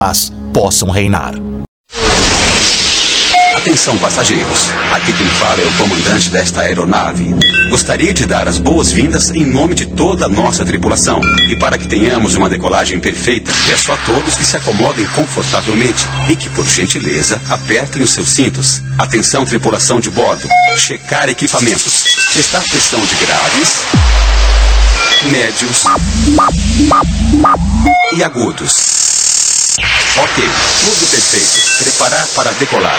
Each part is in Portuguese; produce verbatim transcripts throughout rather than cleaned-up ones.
paz possam reinar. Atenção, passageiros. Aqui quem fala é o comandante desta aeronave. Gostaria de dar as boas-vindas em nome de toda a nossa tripulação. E para que tenhamos uma decolagem perfeita, peço a todos que se acomodem confortavelmente e que, por gentileza, apertem os seus cintos. Atenção, tripulação de bordo. Checar equipamentos. Testar pressão de graves, médios e agudos. Ok, tudo perfeito. Preparar para decolar.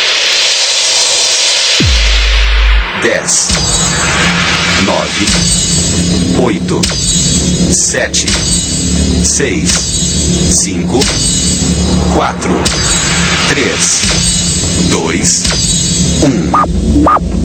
Dez, nove, oito, sete, seis, cinco, quatro, três, dois, um.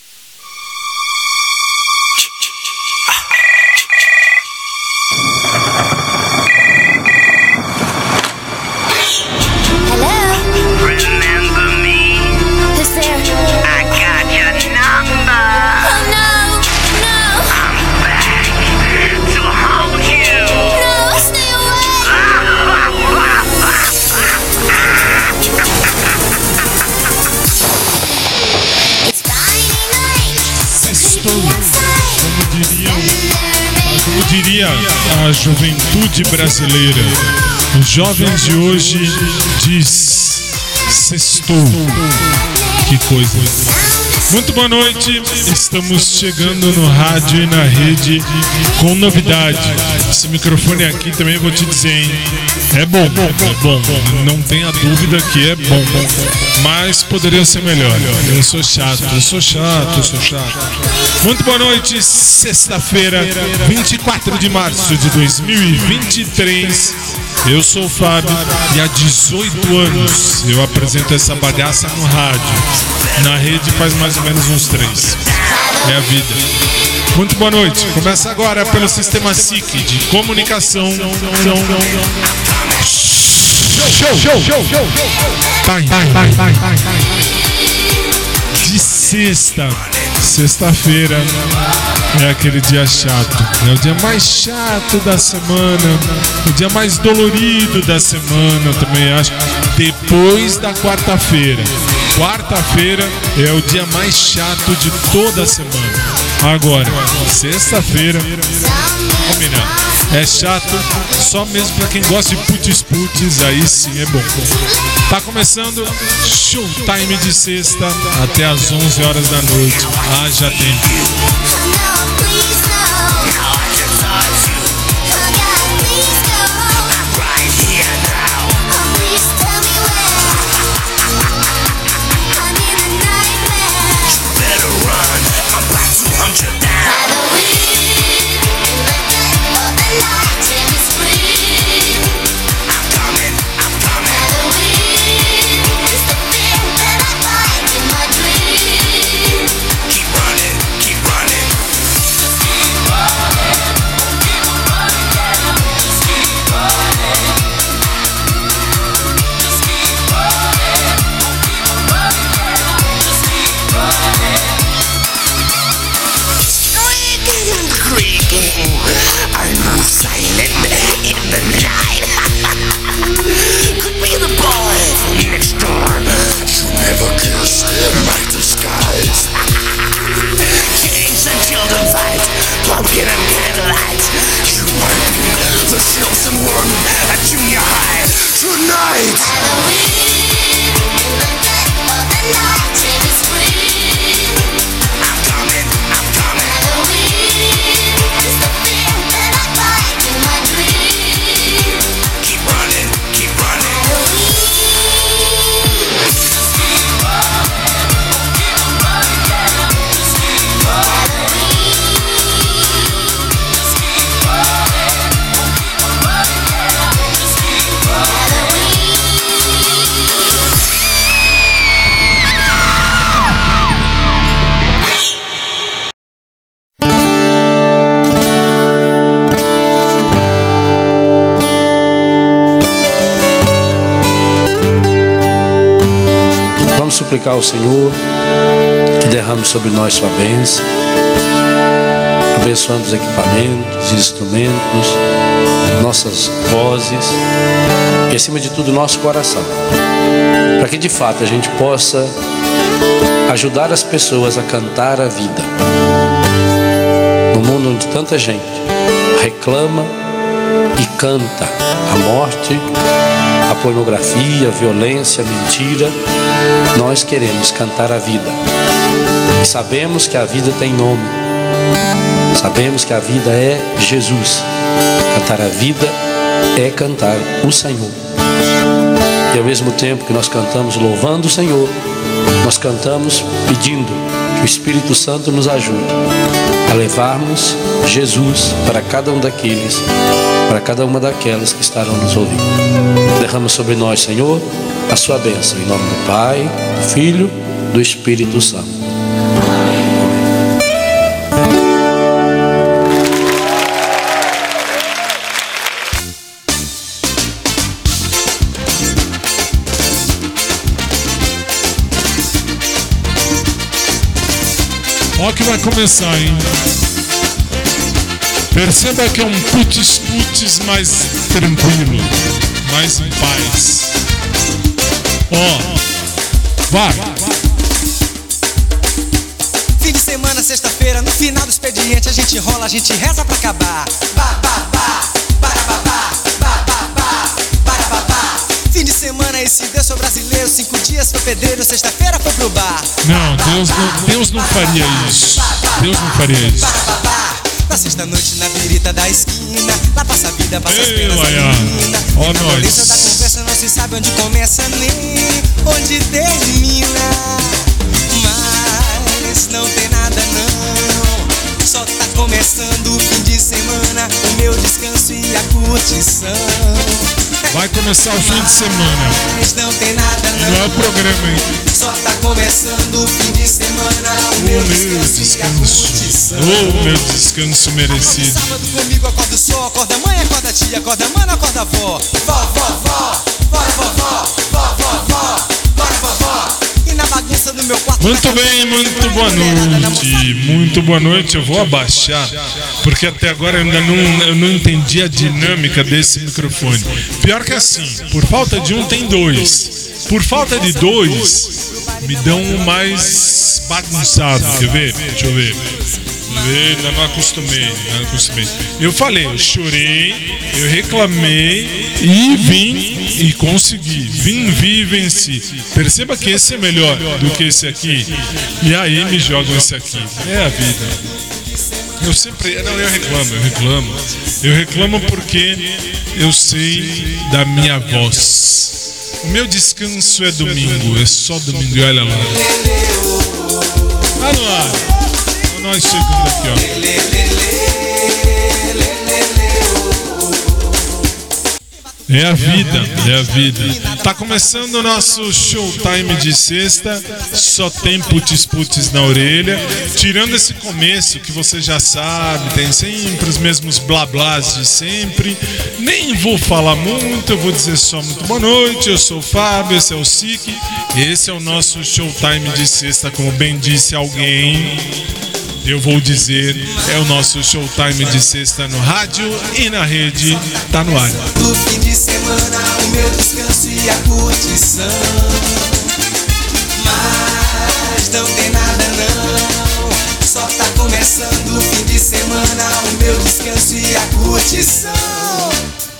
Diria a juventude brasileira, os jovens de hoje diz sextou. Que coisa. Muito boa noite, estamos chegando no rádio e na rede com novidade. Esse microfone aqui também vou te dizer, hein? É bom, é bom, não tenha dúvida que é bom, mas poderia ser melhor. Eu sou chato, eu sou chato, eu sou chato. Muito boa noite, sexta-feira, vinte e quatro de março de dois mil e vinte e três. Eu sou o Fábio e há dezoito anos eu apresento essa bagaça no rádio. Na rede faz mais ou menos uns três. É a vida. Muito boa noite. Começa agora pelo Sistema S I C de comunicação. Show, show, show, show. De sexta, sexta-feira é aquele dia chato. É o dia mais chato da semana, o dia mais dolorido da semana, eu também acho. Depois da quarta-feira. Quarta-feira é o dia mais chato de toda a semana. Agora, sexta-feira, combinado. É chato só mesmo pra quem gosta de putz-putz, aí sim é bom. Tá começando Showtime de sexta até às onze horas da noite. Ah, já tem. Suplicar ao Senhor que derrame sobre nós sua bênção, abençoando os equipamentos, instrumentos, nossas vozes e, acima de tudo, nosso coração, para que de fato a gente possa ajudar as pessoas a cantar a vida. No mundo onde tanta gente reclama e canta a morte, a pornografia, a violência, a mentira, nós queremos cantar a vida. E sabemos que a vida tem nome. Sabemos que a vida é Jesus. Cantar a vida é cantar o Senhor. E ao mesmo tempo que nós cantamos louvando o Senhor, nós cantamos pedindo que o Espírito Santo nos ajude a levarmos Jesus para cada um daqueles, para cada uma daquelas que estarão nos ouvindo. Derrama sobre nós, Senhor, a sua bênção, em nome do Pai, do Filho, do Espírito Santo. Ó que vai começar, hein? Perceba que é um putz-putz mais tranquilo, mais em paz. Ó, vai! Fim de semana, sexta-feira, no final do expediente a gente rola, a gente reza pra acabar. Ba, ba, ba, para, ba, ba, ba, ba, ba, para, ba, ba. Fim de semana, esse Deus sou brasileiro, cinco dias foi pedreiro, sexta-feira foi pro bar. Não, Deus não, Deus não faria isso. Deus não faria isso. Na sexta-noite na birita da esquina, lá passa a vida, passa as Ei, penas da Laia. menina. Ó, E na nós. violência da conversa não se sabe onde começa nem onde termina. Mas não tem nada não, só tá começando o fim de semana, o meu descanso e a curtição. Vai começar o fim de semana. Mas não tem nada não, Não é o programa, hein? só tá começando o fim de semana, o meu O meu descanso e a descanso. curtição. O meu descanso merecido. Sábado comigo, acorda o sol, acorda a mãe, acorda a tia, acorda a mano, acorda a avó. Vó, vó, vó, bora vovó, vó, vó, vó, bora vovó. E na bagunça do meu quarto. Muito bem, muito boa noite. Muito boa noite. Eu vou abaixar, porque até agora eu ainda não, eu não entendi a dinâmica desse microfone. Pior que assim, por falta de um tem dois. Por falta de dois, me dão um mais bagunçado. Quer ver? Deixa eu ver. Deixa eu ver, ainda não acostumei, não acostumei. Eu falei, eu chorei, eu reclamei e vim e consegui. Vim, vi e venci. Perceba que esse é melhor do que esse aqui. E aí me jogam esse aqui. É a vida. Eu sempre. Não, eu reclamo, eu reclamo. Eu reclamo porque eu sei da minha voz. O meu descanso é domingo, é só domingo, e olha lá. Olha lá. Olha nós chegando aqui, ó. É a vida, é a vida. Tá começando o nosso showtime de sexta. Só tem putz-putz na orelha. Tirando esse começo que você já sabe, tem sempre os mesmos blá blás de sempre. Nem vou falar muito, eu vou dizer só muito boa noite. Eu sou o Fábio, esse é o Sique. Esse é o nosso showtime de sexta, como bem disse alguém. Eu vou dizer, é o nosso showtime de sexta no rádio e na rede, tá no ar. No fim de semana, o meu descanso e a curtição. Mas não tem nada não, só tá começando o fim de semana, o meu descanso e a curtição.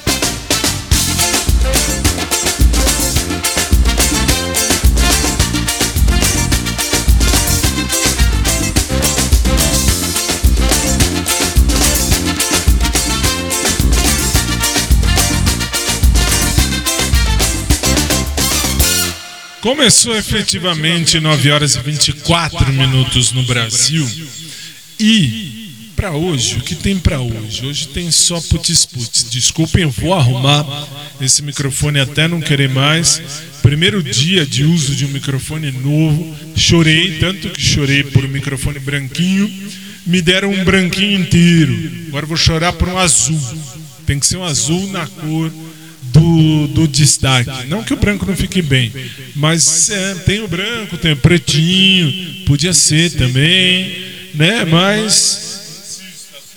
Começou efetivamente nove horas e vinte e quatro minutos no Brasil. E para hoje, o que tem para hoje? Hoje tem só putz-putz. Desculpem, eu vou arrumar esse microfone até não querer mais. Primeiro dia de uso de um microfone novo. Chorei, tanto que chorei por um microfone branquinho. Me deram um branquinho inteiro. Agora eu vou chorar por um azul. Tem que ser um azul na cor Do, do destaque. Não que o branco não fique bem, mas é, tem o branco, tem o pretinho, podia ser também, né? Mas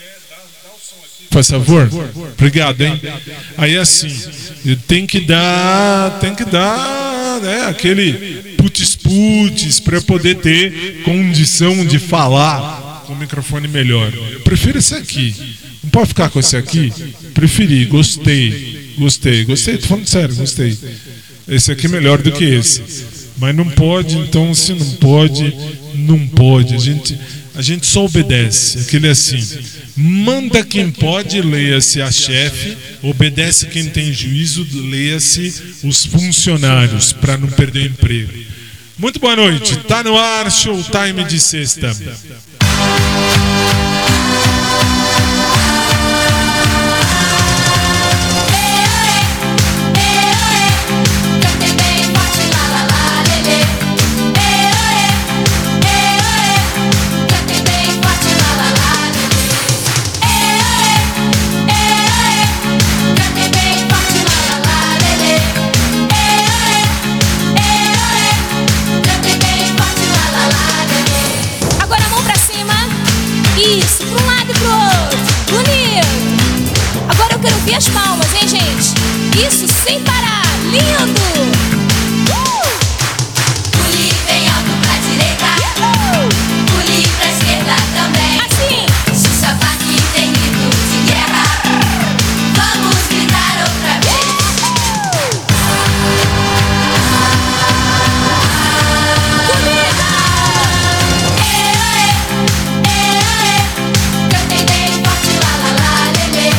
Faz favor? Obrigado, hein? Aí assim, tem que dar, tem que dar, né, aquele putz-putz para eu poder ter condição de falar com o microfone melhor. Eu prefiro esse aqui. Não pode ficar com esse aqui? Preferi, gostei, gostei, gostei, tô falando sério, gostei. Esse aqui é melhor do que esse. Mas não pode, então se não pode, não pode. A gente, a gente só obedece. Aquele é assim. Manda quem pode, leia-se a chefe. Obedece quem tem juízo, leia-se os funcionários, para não perder o emprego. Muito boa noite. Tá no ar, Showtime de sexta. E as palmas, hein, gente? Isso sem parar, lindo! Uh! Pule bem alto pra direita, uh! Pule pra esquerda também. Assim! Se o sapato tem grito de guerra, vamos gritar outra vez. Comigo! Ê, ê, ê, cantem bem forte, lá, lá, lá, lelê.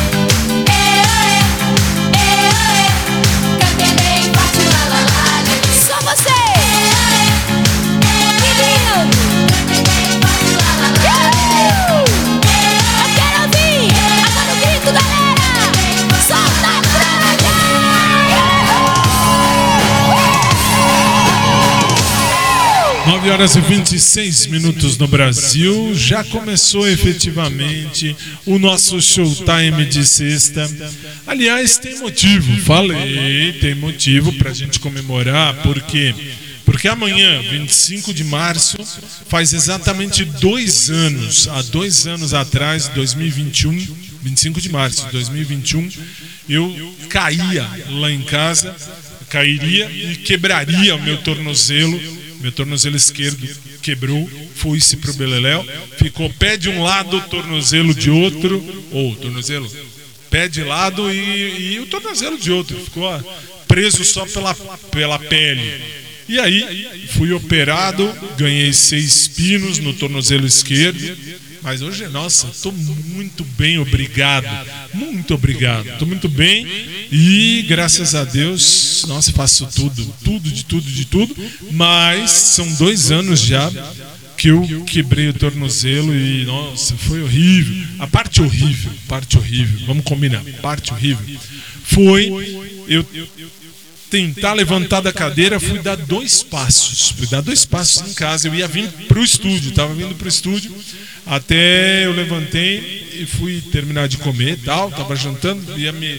nove horas e vinte e seis minutos no Brasil. Já começou efetivamente o nosso Showtime de sexta. Aliás, tem motivo, falei, tem motivo pra gente comemorar, porque porque amanhã, vinte e cinco de março, faz exatamente dois anos, há dois anos atrás, dois mil e vinte e um, vinte e cinco de março de dois mil e vinte e um, eu caía lá em casa, cairia e quebraria o meu tornozelo. Meu tornozelo esquerdo quebrou, foi-se pro beleléu, ficou pé de um lado, tornozelo de outro, ou tornozelo, pé de lado e, e o tornozelo de outro, ficou preso só pela, pela pele. E aí fui operado, ganhei seis pinos no tornozelo esquerdo, mas hoje, nossa, estou muito bem, obrigado, muito obrigado, estou muito bem e graças a Deus, nossa, faço tudo, tudo, de tudo, de tudo, mas são dois anos já que eu quebrei o tornozelo e, nossa, foi horrível, a parte horrível, parte horrível, vamos combinar, parte horrível, foi, eu... tentar levantar da cadeira, fui dar dois passos. Fui dar dois passos em casa. Eu ia vir pro estúdio, estava vindo pro estúdio. Até eu levantei e fui terminar de comer, tal. Tava jantando, ia me, uh,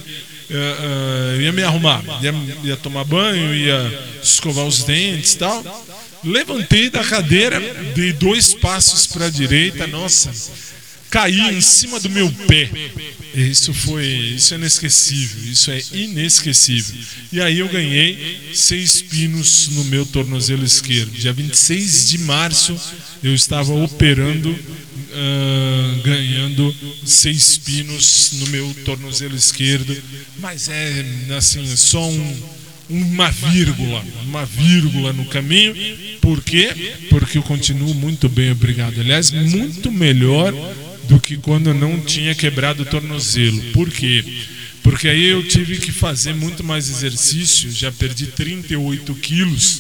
uh, ia me arrumar, ia, ia tomar banho, ia escovar os dentes, tal. Levantei da cadeira, dei dois passos para a direita. Nossa, caí em cima do meu pé. Isso foi, isso é inesquecível, isso é inesquecível. E aí eu ganhei seis pinos no meu tornozelo esquerdo. Dia vinte e seis de março eu estava operando, uh, ganhando seis pinos no meu tornozelo esquerdo. Mas é assim, só um, uma vírgula, uma vírgula no caminho. Por quê? Porque eu continuo muito bem, obrigado. Aliás, muito melhor do que quando eu não tinha quebrado o tornozelo. Por quê? Porque aí eu tive que fazer muito mais exercício, já perdi trinta e oito quilos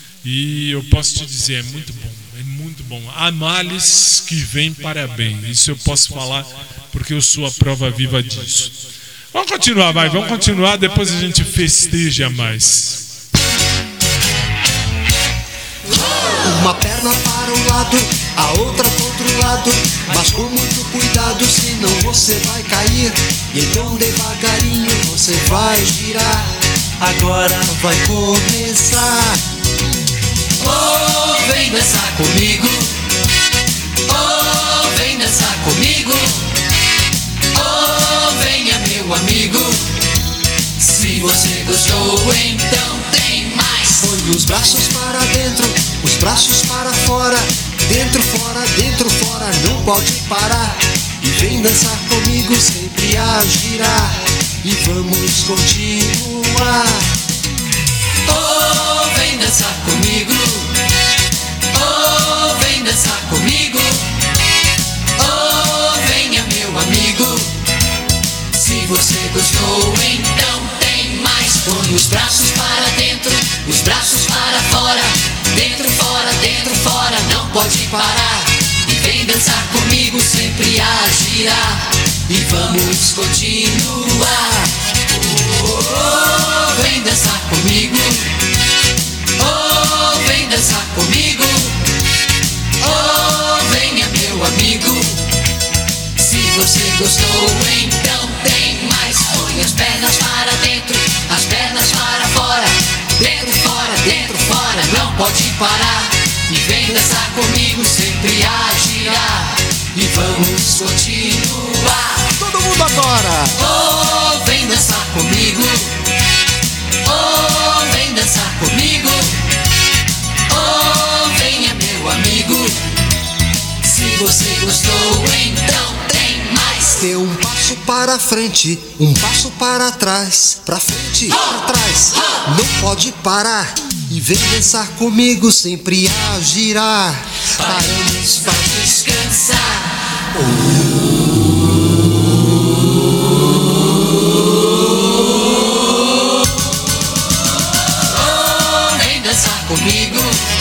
e eu posso te dizer, é muito bom, é muito bom. Há males que vêm para bem, isso eu posso falar porque eu sou a prova viva disso. Vamos continuar, vai, vamos continuar, depois a gente festeja mais. Uma perna para um lado, a outra para outro lado, mas com muito cuidado, senão você vai cair. E então devagarinho você vai girar. Agora vai começar. Oh, vem dançar comigo. Oh, vem dançar comigo. Oh, meu amigo. Se você gostou, então tem mais. Põe os braços para dentro, os braços para fora. Dentro, fora, dentro, fora, não pode parar. E vem dançar comigo, sempre a girar. E vamos continuar. Oh, vem dançar comigo. Oh, vem dançar comigo. Oh, venha meu amigo. Se você gostou, então tem mais. Põe os braços para dentro, os braços para fora. Dentro, fora, dentro, fora, não pode parar. E vem dançar comigo, sempre a girar. E vamos continuar. Oh, vem dançar comigo. Oh, vem dançar comigo. Oh, venha meu amigo. Se você gostou, então tem mais. Põe as pernas para dentro, as pernas para fora. Dentro, fora, dentro, fora, não pode parar. E vem dançar comigo, sempre a girar. E vamos continuar. Todo mundo agora! Oh, vem dançar comigo. Oh, vem dançar comigo. Oh, venha meu amigo. Se você gostou, então tem mais. Dê um passo para frente, um passo para trás. Pra frente, pra trás, não pode parar. E vem dançar comigo, sempre a girar. Paramos para descansar. Oh, vem dançar comigo.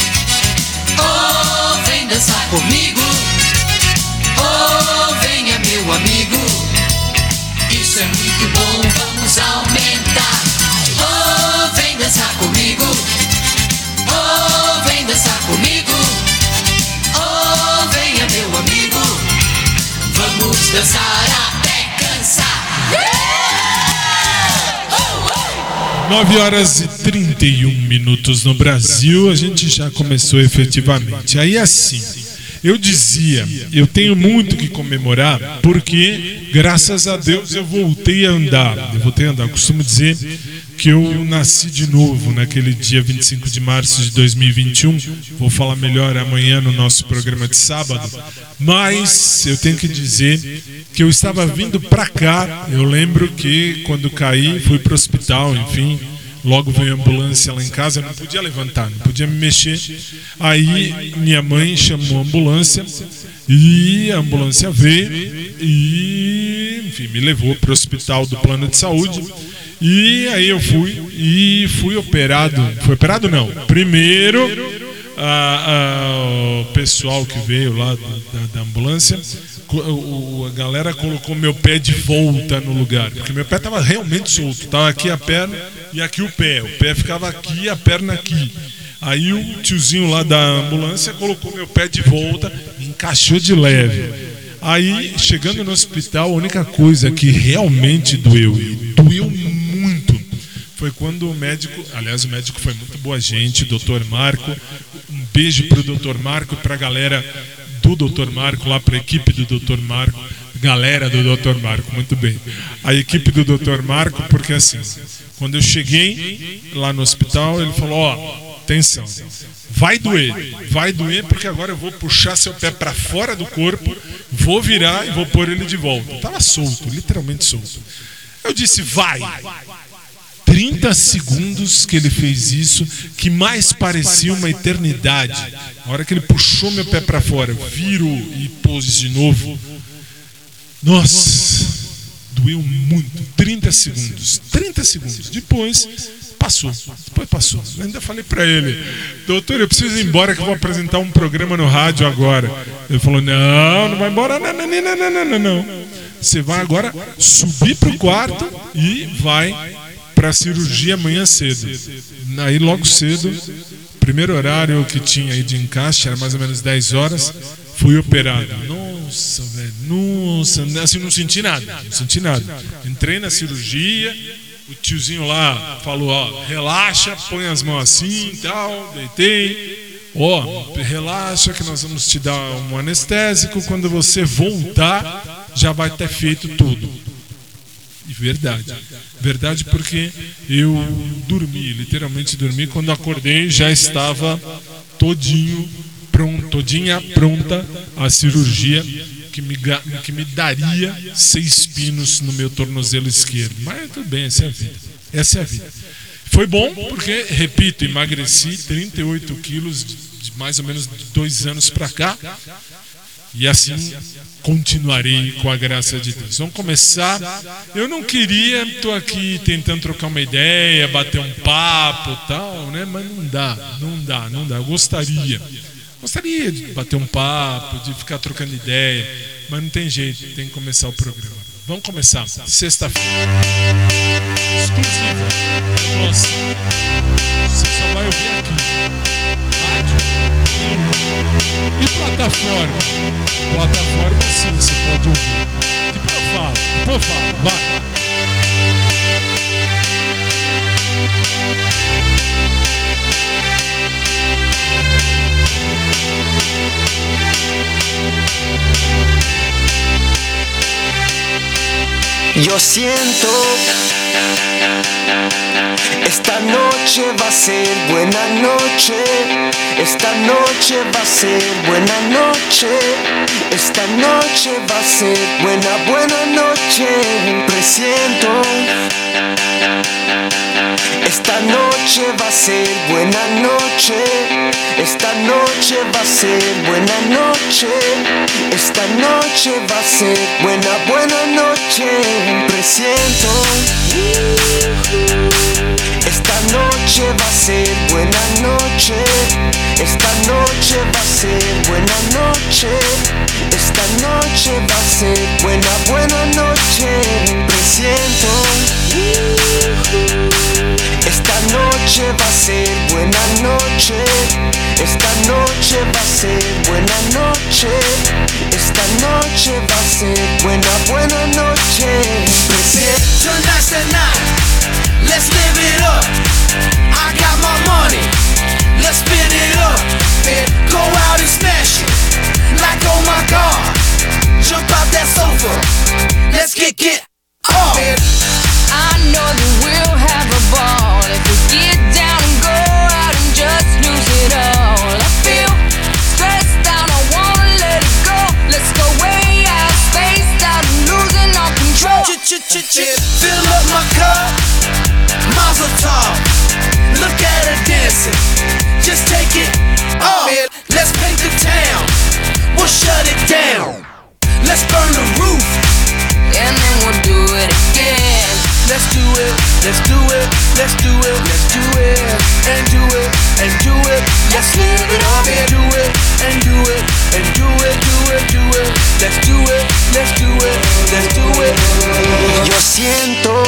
Oh, vem dançar comigo. Oh, venha meu amigo. Isso é muito bom, vamos aumentar. Oh, vem dançar comigo. Oh, vem dançar comigo. Oh, venha meu amigo. Vamos dançar até cansar. nove horas e trinta e um minutos no Brasil, a gente já começou efetivamente. Aí assim, eu dizia, eu tenho muito que comemorar, porque graças a Deus eu voltei a andar. Eu voltei a andar, eu costumo dizer que eu nasci de novo naquele dia vinte e cinco de março de dois mil e vinte e um. Vou falar melhor amanhã no nosso programa de sábado. Mas eu tenho que dizer que eu estava vindo para cá. Eu lembro que quando caí, fui para o hospital, enfim. Logo veio a ambulância lá em casa, eu não podia levantar, não podia me mexer. Aí minha mãe chamou a ambulância e a ambulância veio e, enfim, me levou para o hospital do plano de saúde. E aí eu fui e fui operado. Fui operado não. Primeiro a, a, o pessoal que veio lá da, da ambulância, o, a galera colocou meu pé de volta no lugar, porque meu pé estava realmente solto. Estava aqui a perna e aqui o pé. O pé ficava aqui e a perna aqui. Aí o tiozinho lá da ambulância colocou meu pé de volta e encaixou de leve. Aí, chegando no hospital, a única coisa que realmente doeu, e doeu muito, foi quando o médico, aliás, o médico foi muito boa gente, doutor Marco. Um beijo pro doutor Marco, pra galera do doutor Marco, lá pra equipe do doutor Marco, galera do doutor Marco, muito bem. A equipe do doutor Marco, porque assim, quando eu cheguei lá no hospital, ele falou, ó, atenção, vai doer, vai doer porque agora eu vou puxar seu pé para fora do corpo, vou virar e vou pôr ele de volta. Tava solto, literalmente solto. Eu disse, vai. trinta segundos que ele fez isso, que mais parecia uma eternidade. Na hora que ele puxou meu pé para fora, virou e pôs de novo. Nossa, doeu muito. trinta segundos. trinta segundos. Depois passou. Depois passou. Eu ainda falei para ele, doutor, eu preciso ir embora que eu vou apresentar um programa no rádio agora. Ele falou, não, não vai embora, não, não, não, não, não, não. Você vai agora subir pro quarto e vai para a cirurgia amanhã cedo. Aí logo cedo, primeiro horário que tinha aí de encaixe, era mais ou menos dez horas, fui operado. Nossa, velho, nossa, assim não senti nada, não senti nada. Entrei na cirurgia, o tiozinho lá falou, ó, relaxa, põe as mãos assim e tal, deitei. Ó, relaxa que nós vamos te dar um anestésico, quando você voltar, já vai ter feito tudo. E Verdade. Verdade, porque eu dormi, literalmente dormi. Quando acordei já estava todinho pronto, todinha pronta a cirurgia que me, que me daria seis pinos no meu tornozelo esquerdo. Mas tudo bem, essa é a vida. Essa é a vida. Foi bom porque, repito, emagreci trinta e oito quilos de mais ou menos dois anos para cá. E assim continuarei com a graça de Deus. Vamos começar. Eu não queria, estou aqui tentando trocar uma ideia, bater um papo e tal, né? Mas não dá, não dá, não dá. Eu gostaria. Gostaria de bater um papo, de ficar trocando ideia, mas não tem jeito, tem que começar o programa. Vamos começar. Sexta-feira. Exclusiva. Nossa. Você só vai ouvir aqui. E plataforma? Plataforma sim, você pode ouvir. Depois eu falo, depois eu falo, vai. Yo siento, esta noche va a ser buena noche, esta noche va a ser buena noche, esta noche va a ser buena, buena noche, presiento. Esta noche va a ser buena noche, esta noche va a ser buena noche, esta noche va a ser buena, buena noche, presiento. Esta noche va a ser buena noche, esta noche va a ser buena noche, esta noche va a ser buena, buena noche, presiento. Esta noche va a ser buena noche, esta noche va a ser buena noche, esta noche va a ser buena, buena noche, presiento. Tonight's the night, let's live it up. I got my money, let's spin it up. And go out and smash it, like oh my God. Jump out that sofa, let's get, get up. I know that we'll have a ball if we get down and go out and just lose it all. I feel stressed out, I wanna let it go. Let's go way out, spaced out, losing all control. Fill up my cup, Mazel tov. Look at her dancing, just take it off. Let's paint the town, we'll shut it down. Let's burn the roof, and then we'll do it again. Let's do it, let's do it, let's do it, let's do it, and do it, and do it. Let's live it up and do it, and do it, and do it, do it, do it. Let's do it, let's do it, let's do it. Yo siento,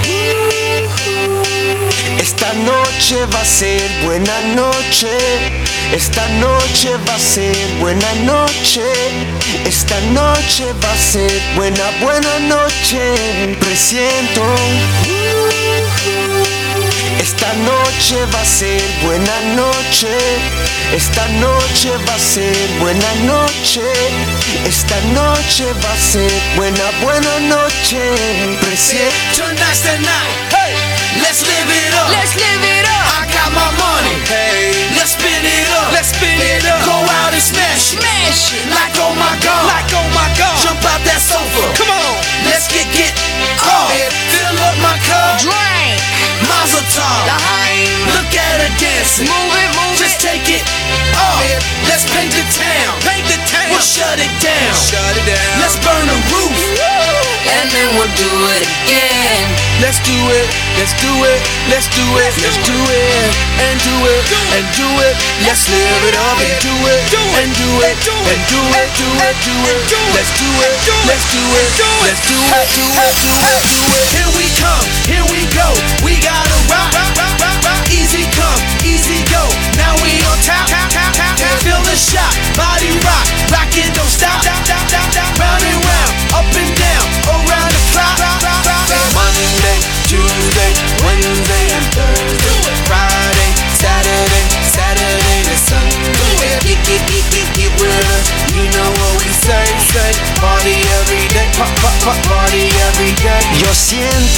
esta noche va a ser buena noche, esta noche va a ser buena noche, esta noche va a ser buena, buena noche, presiento. Esta noche va a ser buena noche, esta noche va a ser buena noche, esta noche va a ser buena, buena noche, presiento. Tonight's the night, hey, let's live it up. Let's live it up. I got my money, hey, let's spin it up. Let's spin it up. Go out and smash it, Smash it. like oh my God, like oh my God. Jump out that sofa, come on, let's get get up. Fill up my cup, Drink. Mazel tov. Look at her dancing, Move it, move just it. take it up. Let's paint the town, paint the town. We'll shut it down, shut it down. Let's burn the roof, And then we'll do it again. let's do it, let's do it, let's do it, let's do it, and do it, and do it. Let's live it up and do it, and do it, and do it, do it, do it. Let's do it, let's do it, let's do it, do it, do it, do it. Here we come, here we go. We gotta rock, easy come, easy go. Now we on top, feel the shot, body rock, rock it, don't stop, round and round, up and down, around the clock. Monday, Tuesday, Wednesday, and Thursday, Friday, Saturday, Saturday to Sunday. Keep, keep, keep, keep, keep with us. You know what we say, say. Party every day, pop, pop, pop, party every day. Yo siento,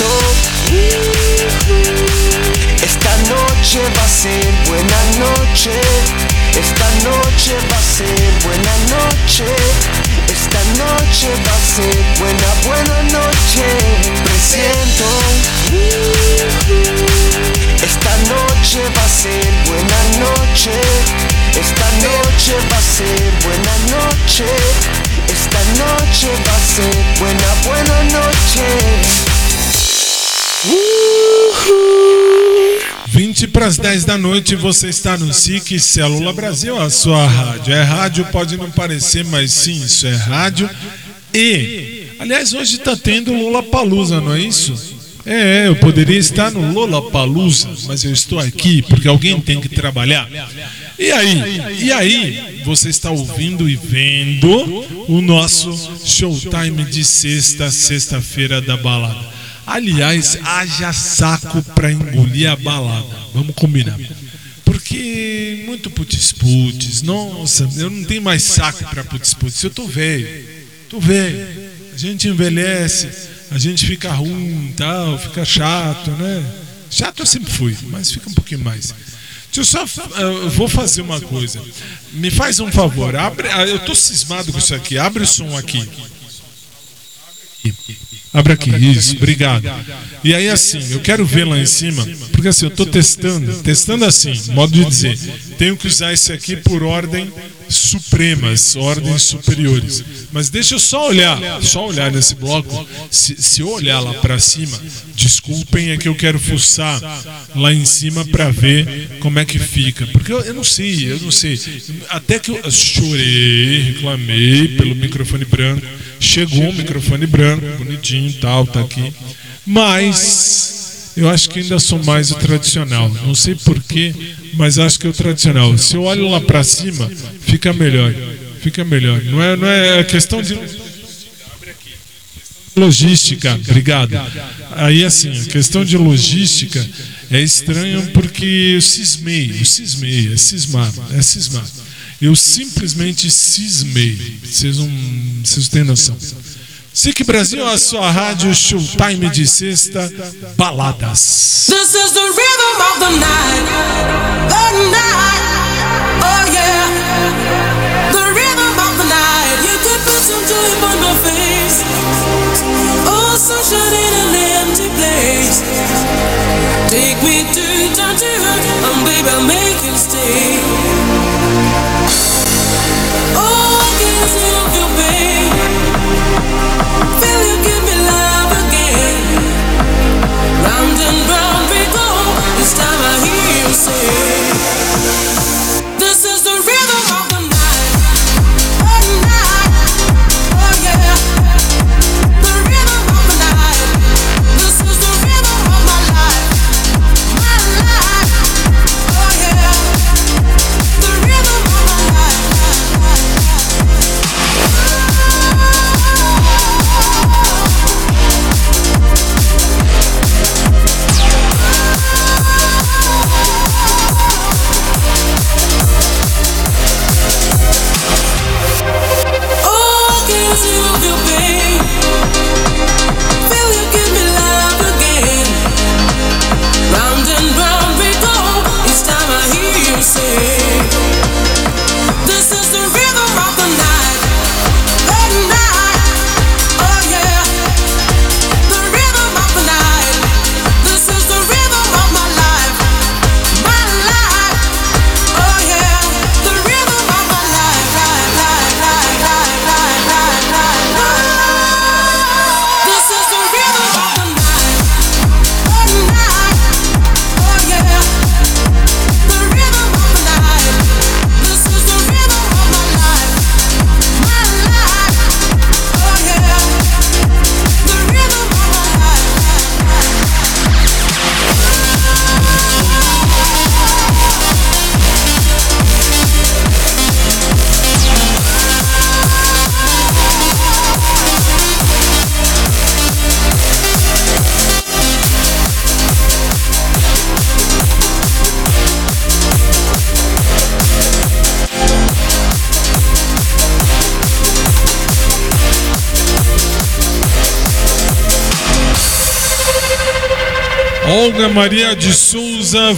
para as dez da noite, você está no S I C Célula Brasil, a sua rádio. É rádio, pode não parecer, mas sim, isso é rádio. E, aliás, hoje está tendo Lollapalooza, não é isso? É, eu poderia estar no Lollapalooza, mas eu estou aqui porque alguém tem que trabalhar. E aí, e aí, você está ouvindo e vendo o nosso Showtime de sexta, sexta-feira da balada. Aliás, haja saco pra engolir a balada. Vamos combinar. Porque muito putz-putz. Nossa, eu não tenho mais saco pra putz-putz. Eu tô velho. Tô velho. A gente envelhece, a gente fica ruim e tal, fica chato, né? Chato eu sempre fui, mas fica um pouquinho mais. Deixa eu só. Uh, vou fazer uma coisa. Me faz um favor. Abre, eu tô cismado com isso aqui. Abre o som aqui. Abre aqui, isso, obrigado. E aí assim, eu quero ver lá em cima, porque assim, eu estou testando, testando assim, modo de dizer, tenho que usar esse aqui por ordem supremas, ordens superiores. Mas deixa eu só olhar, só olhar nesse bloco, se, se eu olhar lá para cima, desculpem, é que eu quero fuçar lá em cima para ver como é que fica. Porque eu, eu não sei, eu não sei. Até que eu chorei, reclamei pelo microfone branco. Chegou um microfone branco, bonitinho e tal, tá aqui. Mas eu acho que ainda sou mais o tradicional. Não sei porquê, mas acho que é o tradicional. Se eu olho lá pra cima, fica melhor. Fica melhor. Não é, não é questão de logística. Obrigado. Aí assim, a questão de logística é estranho porque eu cismei, eu cismei, é cismar, é cismar. Eu simplesmente cismei. Vocês não, vocês têm noção. S I C Brasil, a sua rádio, Showtime de sexta, baladas. This is the rhythm of the night, the night, oh yeah. The rhythm of the night, you could put some joy on my face. Oh, sunshine in an empty place. Take me to down to her, and baby, I'll make you stay. Oh, I can't see your pain. Feel you give me love again. Round and round we go. This time I hear you say, this is the rhythm of the night. Oh, night. Oh, yeah. The rhythm of the night. This is the rhythm of my life. My life. Oh, yeah. The rhythm of my life. Olga Maria de Souza,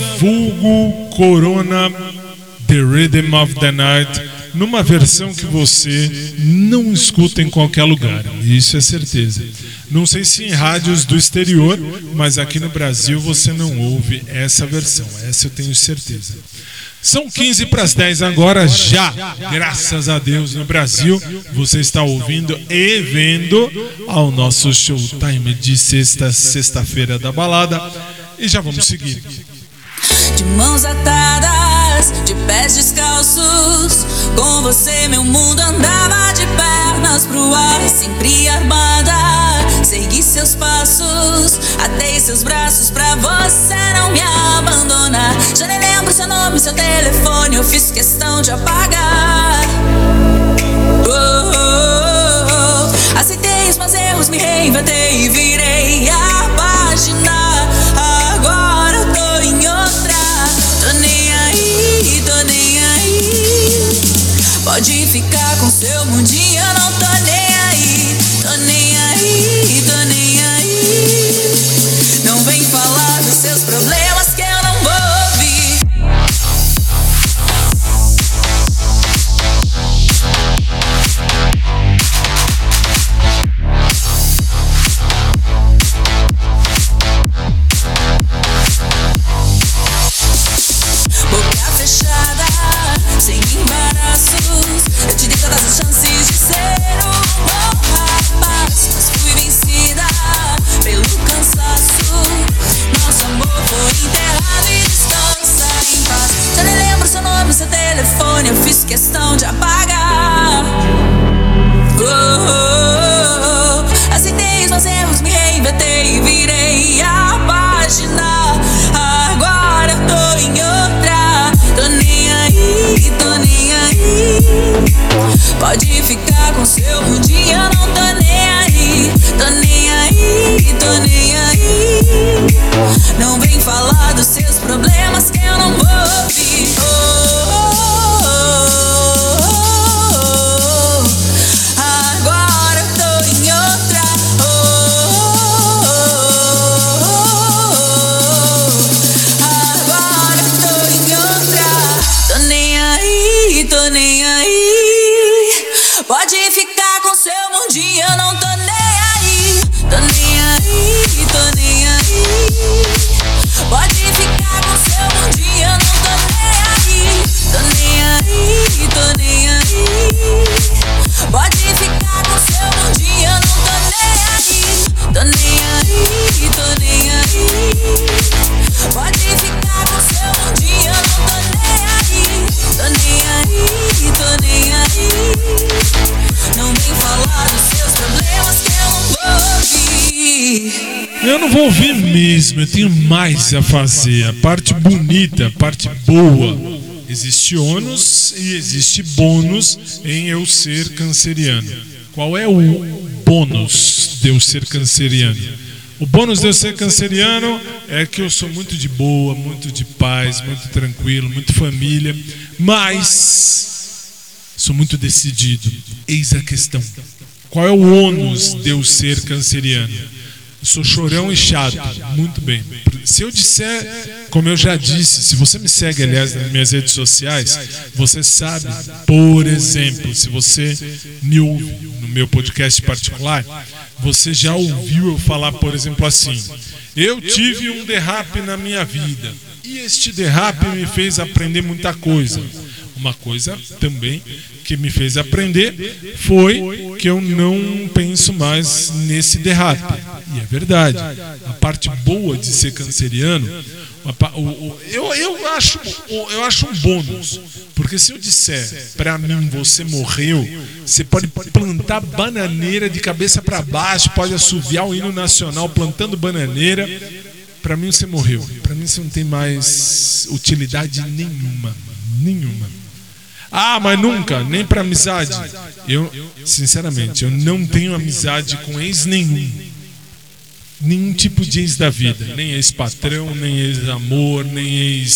vulgo Corona, The Rhythm of the Night, numa versão que você não escuta em qualquer lugar, isso é certeza. Não sei se em rádios do exterior, mas aqui no Brasil você não ouve essa versão, essa eu tenho certeza. São quinze para as dez agora, já, graças a Deus, no Brasil, você está ouvindo e vendo ao nosso Showtime de sexta, sexta-feira da balada. E já vamos seguir. de mãos atadas, de pés descalços. Com você meu mundo andava de pernas pro ar, sempre armada. Segui seus passos, atei seus braços pra você não me abandonar. Já nem lembro seu nome, seu telefone, eu fiz questão de apagar. Oh, oh, oh, oh. Aceitei os meus erros, me reinventei e virei a página. Agora eu tô em outra. Tô nem aí, tô nem aí. Pode ficar com seu mundinho, eu não tô nem aí. Tô nem aí, tô nem aí. Não vem falar dos seus problemas que eu não vou ouvir. Boca fechada, sem embaraços. Eu te dei todas as chances de ser um bom rapaz, mas fui vencida pelo cansaço. Nosso amor foi enterrado e descansa em paz. Já nem lembro seu nome, seu telefone, eu fiz questão de apagar. Oh, oh, oh. Aceitei os meus erros, me reinventei e virei a página. Agora eu tô em outra. Tô nem aí, tô nem aí. Pode ficar com seu mundinho, eu não tô nem aí. Tô nem aí, tô nem aí. Não vem falar dos seus problemas que eu não vou ouvir. Oh, oh, oh, oh, oh. Agora eu tô em outra. Oh, oh, oh, oh. Agora eu tô em outra. Tô nem aí, tô nem aí. Pode ficar com seu mundinho, eu não tô nem aí. Tô nem aí, tô nem aí. Pode ficar com seu mundinho, eu não tô nem aí. Tô nem aí, tô nem aí. Pode ficar com seu mundinho, eu não tô nem aí. Tô nem aí, tô nem aí. Pode ficar com seu mundinho, eu não tô nem aí. Tô nem aí, tô nem aí. Não vem falar dos seus problemas que eu não vou ouvir. Eu não vou ouvir mesmo, eu tenho mais a fazer. A parte bonita, a parte boa. Existe ônus e existe bônus em eu ser canceriano. Qual é o bônus de eu ser canceriano? O bônus de eu ser canceriano é que eu sou muito de boa, muito de paz, muito tranquilo, muito família, mas sou muito decidido. Eis a questão. Qual é o ônus de eu ser canceriano? Eu sou chorão e chato. Muito bem. Se eu disser, como eu já disse, se você me segue, aliás, nas minhas redes sociais, você sabe, por exemplo, se você me ouve no meu podcast particular, você já ouviu eu falar, por exemplo, assim: eu tive um derrape na minha vida e este derrape me fez aprender muita coisa. Uma coisa também que me fez aprender foi que eu não penso mais nesse derrape. E é verdade. A parte boa de ser canceriano, eu, eu, acho, eu acho um bônus. Porque se eu disser pra mim, você morreu, você pode plantar bananeira de cabeça para baixo, pode assoviar o hino nacional plantando bananeira. Pra mim você morreu. Pra mim você não tem mais utilidade nenhuma. Nenhuma. Ah, mas nunca, nem pra amizade. Eu, sinceramente, eu não tenho amizade com ex nenhum. Nenhum tipo de ex da vida. Nem ex-patrão, nem ex-amor, nem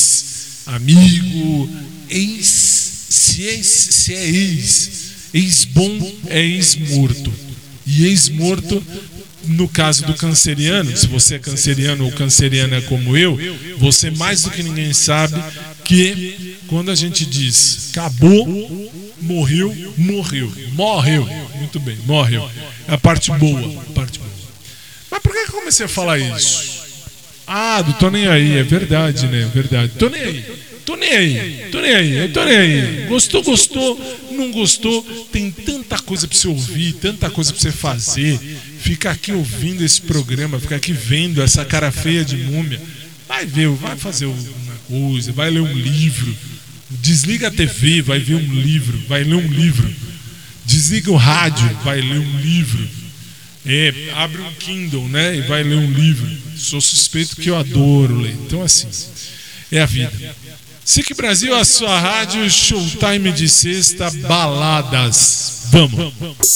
ex-amigo. Ex, se é, se é ex, ex-bom é ex-morto. E ex-morto, no caso do canceriano, se você é canceriano ou canceriana como eu, você mais do que ninguém sabe que quando a gente diz acabou, morreu, morreu, morreu, muito bem, morreu. É a parte boa, a parte boa. Mas por que eu comecei a falar isso? Ah, do tô nem aí, é verdade, né? É verdade. Tô nem aí, tô nem aí, tô nem aí, eu tô nem aí. Gostou, gostou, não gostou, tem tanta coisa pra você ouvir, tanta coisa pra você fazer. Fica aqui ouvindo esse programa, fica aqui vendo essa cara feia de múmia. Vai ver, vai fazer uma coisa, vai ler um livro. Desliga a T V, vai ver um livro, vai ler um livro. Desliga o rádio, vai ler um livro. É, abre um Kindle, né, e vai ler um livro. Sou suspeito que eu adoro ler. Então assim, é a vida. S I C Brasil, a sua rádio, showtime de sexta, baladas. Vamos.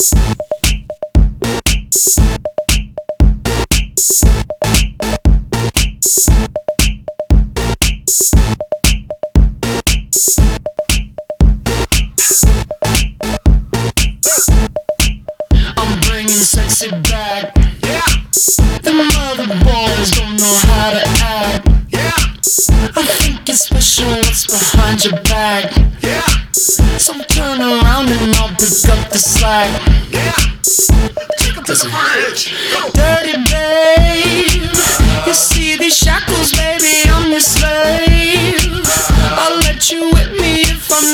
I'm bringing sexy back. Yeah. The mother boys don't know how to act. Yeah. I think it's special what's behind your back. Yeah. So turn around and I'll pick up the slack. Yeah. Take 'em to the bridge. Dirty babe. You see these shackles, baby, I'm your slave. I'll let you whip me if I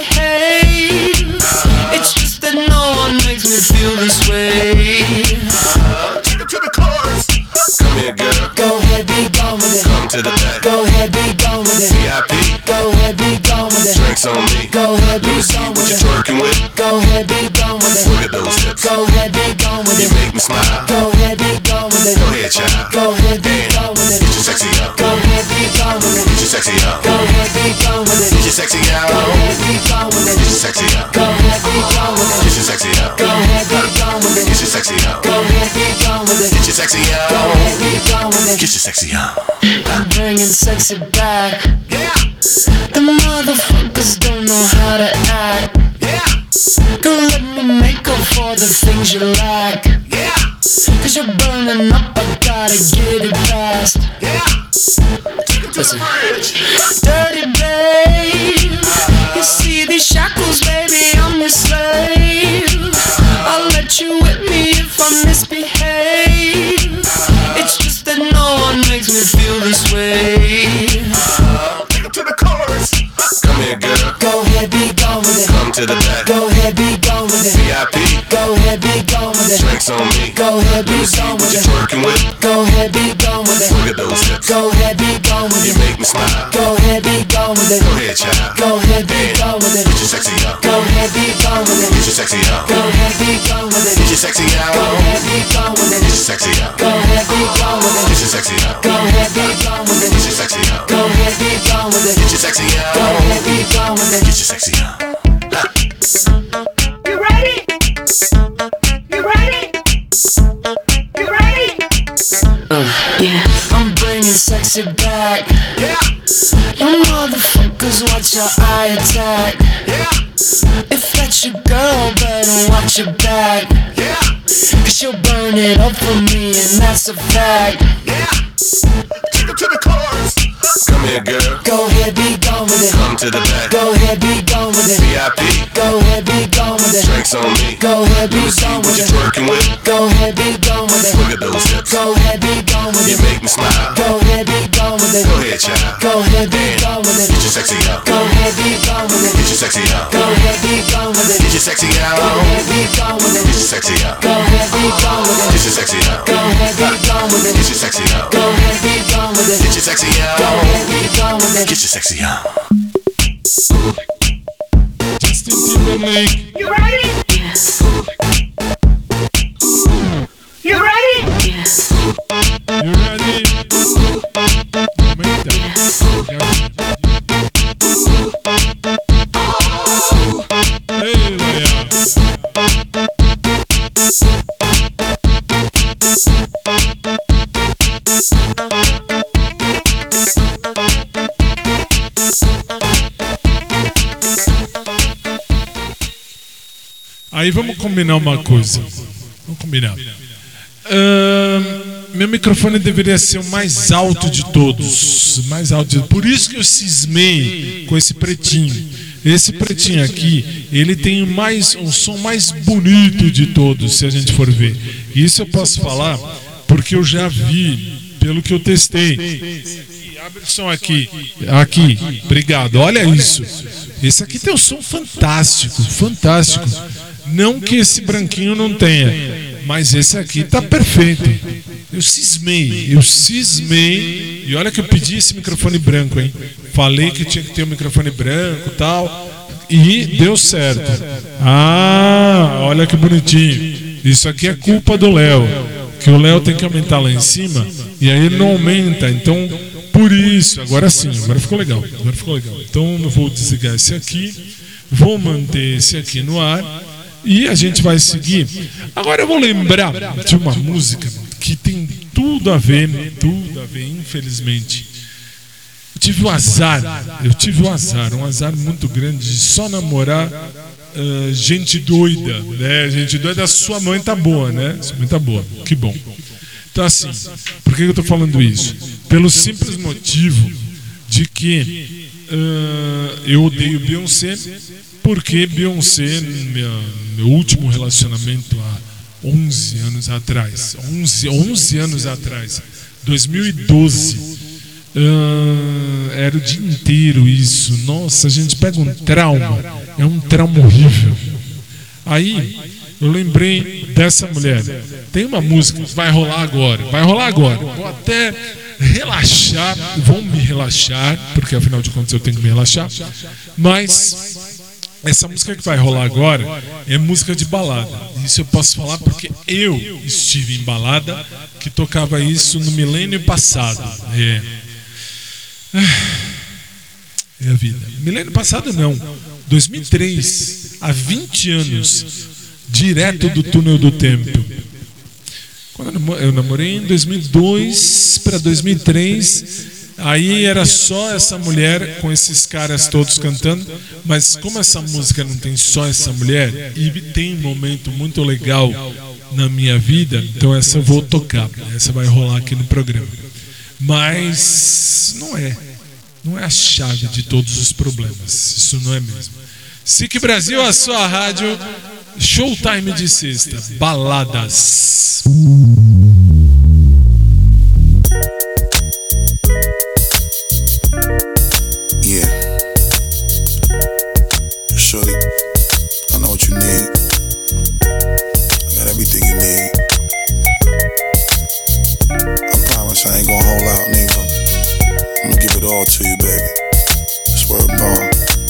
misbehave. It's just that no one makes me feel this way. Take 'em to the chorus. Come here, girl. Go ahead, be gone with it. Come to the back. Go ahead, be gone with it. V I P. Go ahead, be gone with it. Drinks on me. Go ahead, be Let me see gone what with you're it. twerking with. Go ahead, be gone with it. Look at those hips. Go ahead, be gone with You it. make me smile. Go ahead, be gone with it. Go ahead, child. Go ahead, be gone with it. Get your sexy out. Go ahead, be gone with it. Get your sexy out. Go ahead, be gone with it. Get your sexy out. Go ahead, be gone with it. Get your sexy out. Go ahead, be gone with it. Get your sexy out. Go ahead, be gone with it. Get your sexy out. Go ahead, be gone with it. Get your sexy Go out. ahead, be gone with it. Get your sexy out. I'm bringing sexy back. Yeah. The motherfuckers don't know how to act. Yeah. Don't let me make up for the things you lack. Yeah. Cause you're burning up, I gotta get it fast. Yeah. Take 'em to the bridge. Dirty babe, you see these shackles, baby, I'm your slave. I'll let you whip me if I misbehave. It's just that no one makes me feel this way. Take 'em to the chorus. Come here, girl. Go ahead, be gone with it. Come to the back. Go ahead, be gone with it. V I P. Go ahead, be gone with it. Drinks on me. Go ahead, be Let me see gone what with you're it. twerking with. Go ahead, be gone with it. Look at those hips. Go ahead, be gone with You it. make me smile. Go ahead, be gone with it. Go ahead, child. Go ahead, be gone with it. Get your sexy out. Go ahead, be gone with Get it. your sexy out. Go ahead, be gone with Get it. your sexy out. Go ahead, be gone with Get your it. sexy out. Go ahead, be gone with Get it. your sexy out. Go ahead, be gone with Get your it. sexy out. Go ahead, be gone with it. Get your sexy out. Go ahead, be gone with Get it. your sexy out. You ready? You ready? You ready? Yeah, I'm bringing sexy back. Yeah. You motherfuckers watch your eye attack. Yeah. If that's your girl, better watch your back. Yeah. Cause she'll burn it up for me, and that's a fact. Yeah. Take 'em to the chorus. Come here, girl. Go ahead, be gone with it. Come to the back. Go ahead, be gone with it. V I P. Go ahead, be gone with it. Drinks on me. Go ahead, be Let me see gone what with you're it. twerking with. Go ahead, be gone with Look it. at those hips. Go ahead, be gone with You it. make me smile. Go ahead, be gone with it. Go ahead, child. Go ahead, be gone with Get it. your sexy out. Go ahead, be gone with Get it. your sexy out. Go ahead, be gone with Get it. your sexy Go out. ahead, be gone with Get your it. sexy out. Go ahead, be gone with Get it. your sexy out. Go ahead, be gone with Get it. your sexy out. Go ahead, be gone with Get it. your sexy Go out. ahead, be gone with it. Get your sexy out. Justin Timberlake. You ready? You ready? You ready? Aumenta. Ei, Leia. Aí vamos combinar uma coisa. Vamos combinar. Ahn, meu microfone deveria ser o mais alto de todos. Mais alto de... Por isso que eu cismei com esse pretinho. Esse pretinho aqui, ele tem mais, um som mais bonito de todos, se a gente for ver. Isso eu posso falar porque eu já vi, pelo que eu testei. Abre o som aqui. Aqui, obrigado. Olha isso. Esse aqui tem um som fantástico, fantástico. Não que esse branquinho não tenha, mas esse aqui tá perfeito. Eu cismei, eu cismei. E olha que eu pedi esse microfone branco, hein? Falei que tinha que ter um microfone branco e tal. E deu certo. Ah, olha que bonitinho. Isso aqui é culpa do Léo. Que o Léo tem que aumentar lá em cima. E aí ele não aumenta. Então, por isso, agora sim, agora ficou legal. Agora ficou legal. Então eu vou desligar esse aqui. Vou manter esse aqui no ar. E a gente vai seguir. Agora eu vou lembrar de uma música que tem tudo a ver, tudo a ver, infelizmente. Eu tive o azar, eu tive o azar, um azar muito grande de só namorar uh, gente doida, né? Gente doida, a sua mãe tá boa, né? Sua mãe tá boa, que bom. Então assim, por que eu tô falando isso? Pelo simples motivo de que uh, eu odeio Beyoncé, porque Beyoncé, meu, meu último relacionamento há onze anos atrás, onze, onze anos atrás, dois mil e doze, uh, era o dia inteiro isso. Nossa, a gente pega um trauma, é um trauma horrível. Aí eu lembrei dessa mulher. Tem uma música que vai rolar agora, vai rolar agora. Vou até relaxar, vou me relaxar, porque afinal de contas eu tenho que me relaxar. Mas essa música que vai rolar agora é música de balada. Isso eu posso falar porque eu estive em balada que tocava isso no milênio passado. É, é a vida. Milênio passado não, dois mil e três, há vinte anos, direto do túnel do tempo. Quando eu namorei em dois mil e dois para dois mil e três. Aí era só essa mulher com esses caras todos cantando. Mas como essa música não tem só essa mulher e tem um momento muito legal na minha vida, então essa eu vou tocar. Essa vai rolar aqui no programa. Mas não é. Não é a chave de todos os problemas. Isso não é mesmo. S I C Brasil, a sua rádio. Showtime de sexta. Baladas. Yeah. Shorty, I know what you need. I got everything you need. I promise I ain't gonna hold out, nigga. I'm gonna give it all to you, baby. Swear more.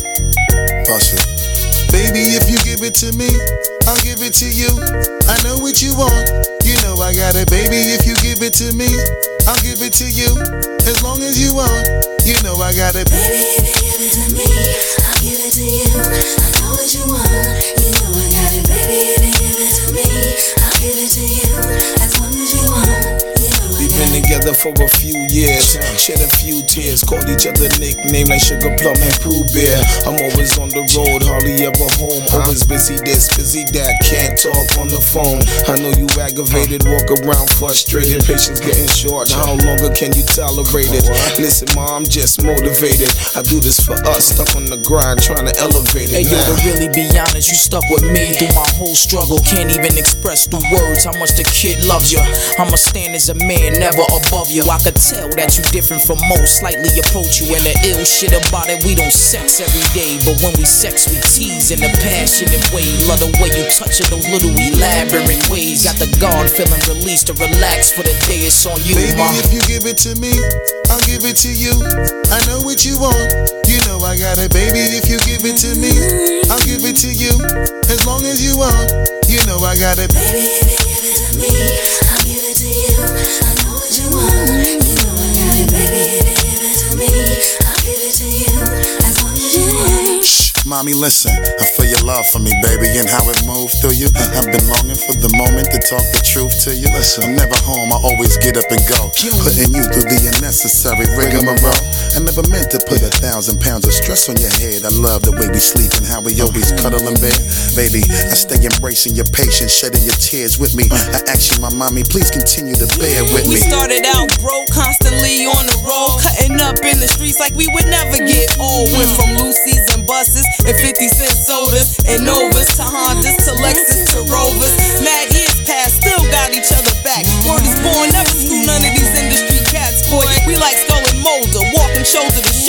Bust it. Baby, if you give it to me, I'll give it to you. I know what you want. You know I got it, baby. If you give it to me, I'll give it to you. As long as you want. You know I got it. Baby, if you give it to me, I'll give it to you. I know what you want. You know I got it. Baby, if you give it to me, I'll give it to you. As long as you want. We've been together for a few years, shed a few tears, called each other nicknames like Sugar Plum and Pooh Bear. I'm always on the road, hardly ever home. Always busy this, busy that, can't talk on the phone. I know you aggravated, walk around frustrated, patience getting short. How longer can you tolerate it? Listen, ma, I'm just motivated. I do this for us, stuck on the grind, trying to elevate it. Hey, yo, to really be honest, you stuck with me through my whole struggle. Can't even express through words how much the kid loves you. I'ma stand as a man, never above you. I could tell that you different from most, slightly approach you. And the ill shit about it, we don't sex every day, but when we sex, we tease in a passionate way. Love the way you touch it, those little elaborate ways. Got the guard feeling released to relax for the day. It's on you, baby, ma. if you give it to me, I'll give it to you. I know what you want. You know I got it, baby. If you give it to me, I'll give it to you. As long as you want. You know I got it. Baby, if you give it to me, I'll give it to you. I know what you want. You know I got it. Baby, if you give it to me, I'll give it to you. As long as you want. Shh, mommy, listen. I feel your love for me, baby, and how it moved through you. I've been longing for the moment to talk the truth to you. Listen, I'm never home, I always get up and go. Putting you through the unnecessary rigmarole. I never meant to put a thousand pounds of stress on your head. I love the way we sleep and how we always cuddle in bed. Baby, I stay embracing your patience, shedding your tears with me. I ask you, my mommy, please continue to bear with me. We started out broke, constantly on the road, cutting up in the streets like we would never get old. Went from Lucy's and buses and fifty cent sodas and Novas to Hondas to Lexus to Rovers. Mad years past, still got each other back. Word is born, never screw none of these industry cats, boy. We like Skull and Molder, walking shoulder to shoulder.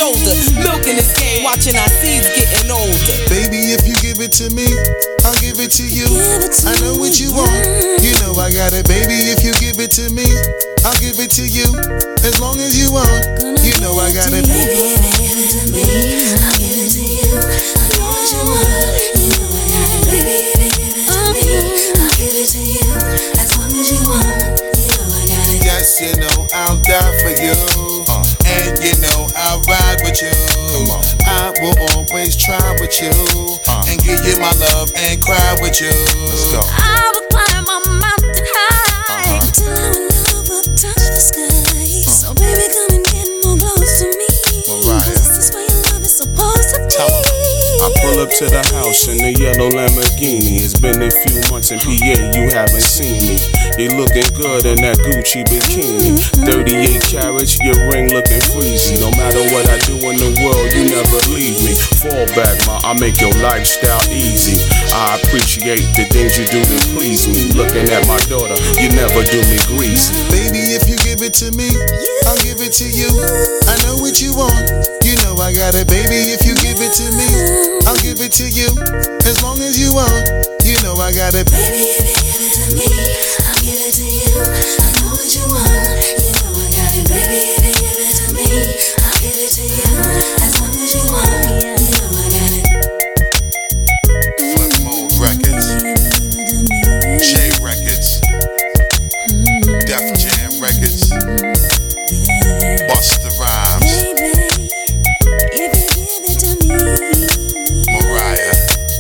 Milking this game, watching our seeds getting older. Baby, if you give it to me, I'll give it to you. I know what you want, you know I got it. Baby, if you give it to me, I'll give it to you. As long as you want, you know I got it. Baby, give it to me, I'll give it to you. I know what you want, you know I got it. Baby, give it to me, I'll give it to you. As long as you want, you know I got it. Yes, you know I'll die for you, uh, and you know I'll ride with you. Come on. I will always try with you, uh, and give you my love and cry with you. Let's go. I will climb a mountain high, uh-huh, till our love will touch the sky. Uh. So baby, come and get more close to me, Mariah. 'cause this is where your love is supposed to be. I pull up to the house in the yellow Lamborghini. It's been a few months in P A, you haven't seen me. You looking good in that Gucci bikini. thirty-eight carats, your ring looking freezy. No matter what I do in the world, you never leave me. Fall back, ma, I make your lifestyle easy. I appreciate the things you do to please me. Looking at my daughter, you never do me greasy. Baby, if you give it to me, I'll give it to you. I know what you want, you know I got it. Baby, if you give it to me, I'll give it to you. As long as you want, you know I got it. Baby, if you give it to me, I'll give it to you. I know what you want, you know I got it. Baby, if you give it to me, I'll give it to you. As long as you want, you know I got it. Flip Mode Records, J Records, Def Jam Records, Busta Rhymes, If you give it to me, Mariah,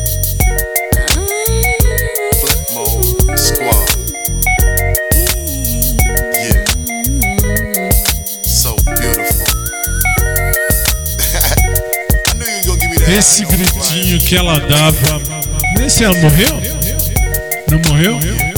Flip Mode Squad. Yeah, so beautiful. I knew you were gonna give me that. Esse gritinho que ela dava. Nesse ela morreu? Não morreu?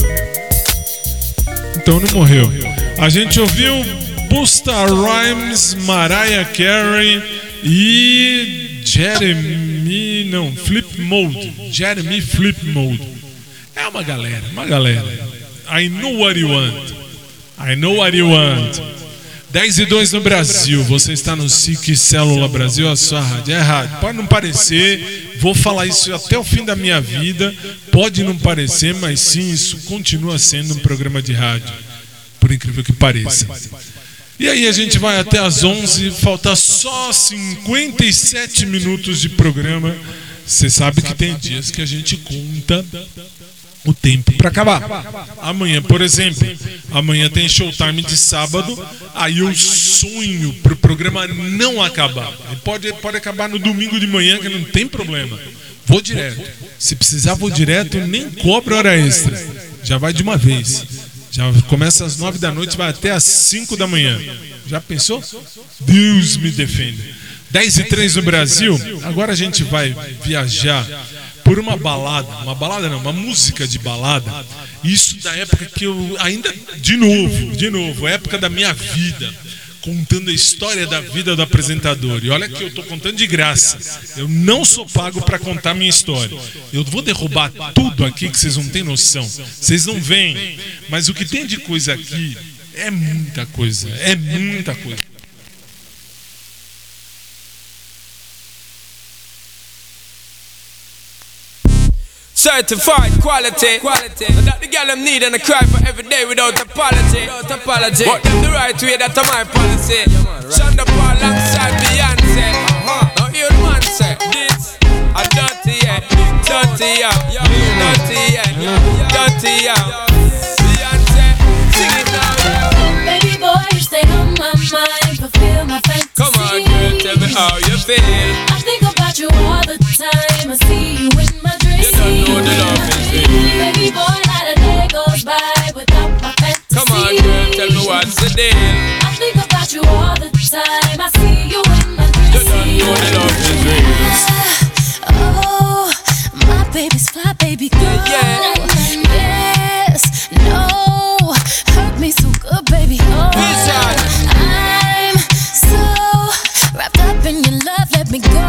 Então não morreu. A gente ouviu Busta Rhymes, Mariah Carey e Jeremy, não, Flip Mode. Jeremy Flip Mode. É uma galera, uma galera. I know what you want. I know what you want. dez e dois no Brasil. Você está no S I C Célula Brasil, a sua rádio. É rádio. Pode não parecer, vou falar isso até o fim da minha vida. Pode não parecer, mas sim, isso continua sendo um programa de rádio. Por incrível que pareça. E aí a gente vai até às onze, falta só cinquenta e sete minutos de programa. Você sabe que tem dias que a gente conta o tempo para acabar. Amanhã, por exemplo, amanhã tem showtime de sábado. Aí eu sonho pro programa não acabar. Pode, pode acabar no domingo de manhã, que não tem problema. Vou direto. Se precisar, vou direto, nem cobro hora extra. Já vai de uma vez. Já começa às nove da noite, vai até às cinco da manhã. Já pensou? Deus me defenda. dez e três no Brasil. Agora a gente vai viajar por uma balada. Uma balada não, uma música de balada. Isso da época que eu ainda... De novo, de novo, época da minha vida. Contando a história da vida do apresentador. E olha que eu tô contando de graça. Eu não sou pago para contar minha história. Eu vou derrubar tudo aqui que vocês não têm noção. Vocês não veem. Mas o que tem de coisa aqui é muita coisa. É muita coisa. Certified quality, quality. That the girl them need and I cry for every day without apology. Without apology. But them the right way, that's my policy. Shonda Paul alongside Beyonce. Uh-huh. Now hear the man say this. I'm dirty yeah, dirty yeah, dirty yeah, dirty yeah. Beyonce, sing it now. baby boy, you stay on my mind, fulfill my fantasy. Come on, girl, tell me how you feel. I think about you all the time. I see you in my dreams. You don't know the love is real. Baby boy, not a day goes by without my fantasy. Come on, girl, tell me what's the deal. I think about you all the time. I see you in my dreams. You don't know the love is real. Oh, my baby's fly, baby girl. Yeah, yeah. Yes, no, hurt me so good, baby. Oh, I'm so wrapped up in your love. Let me go.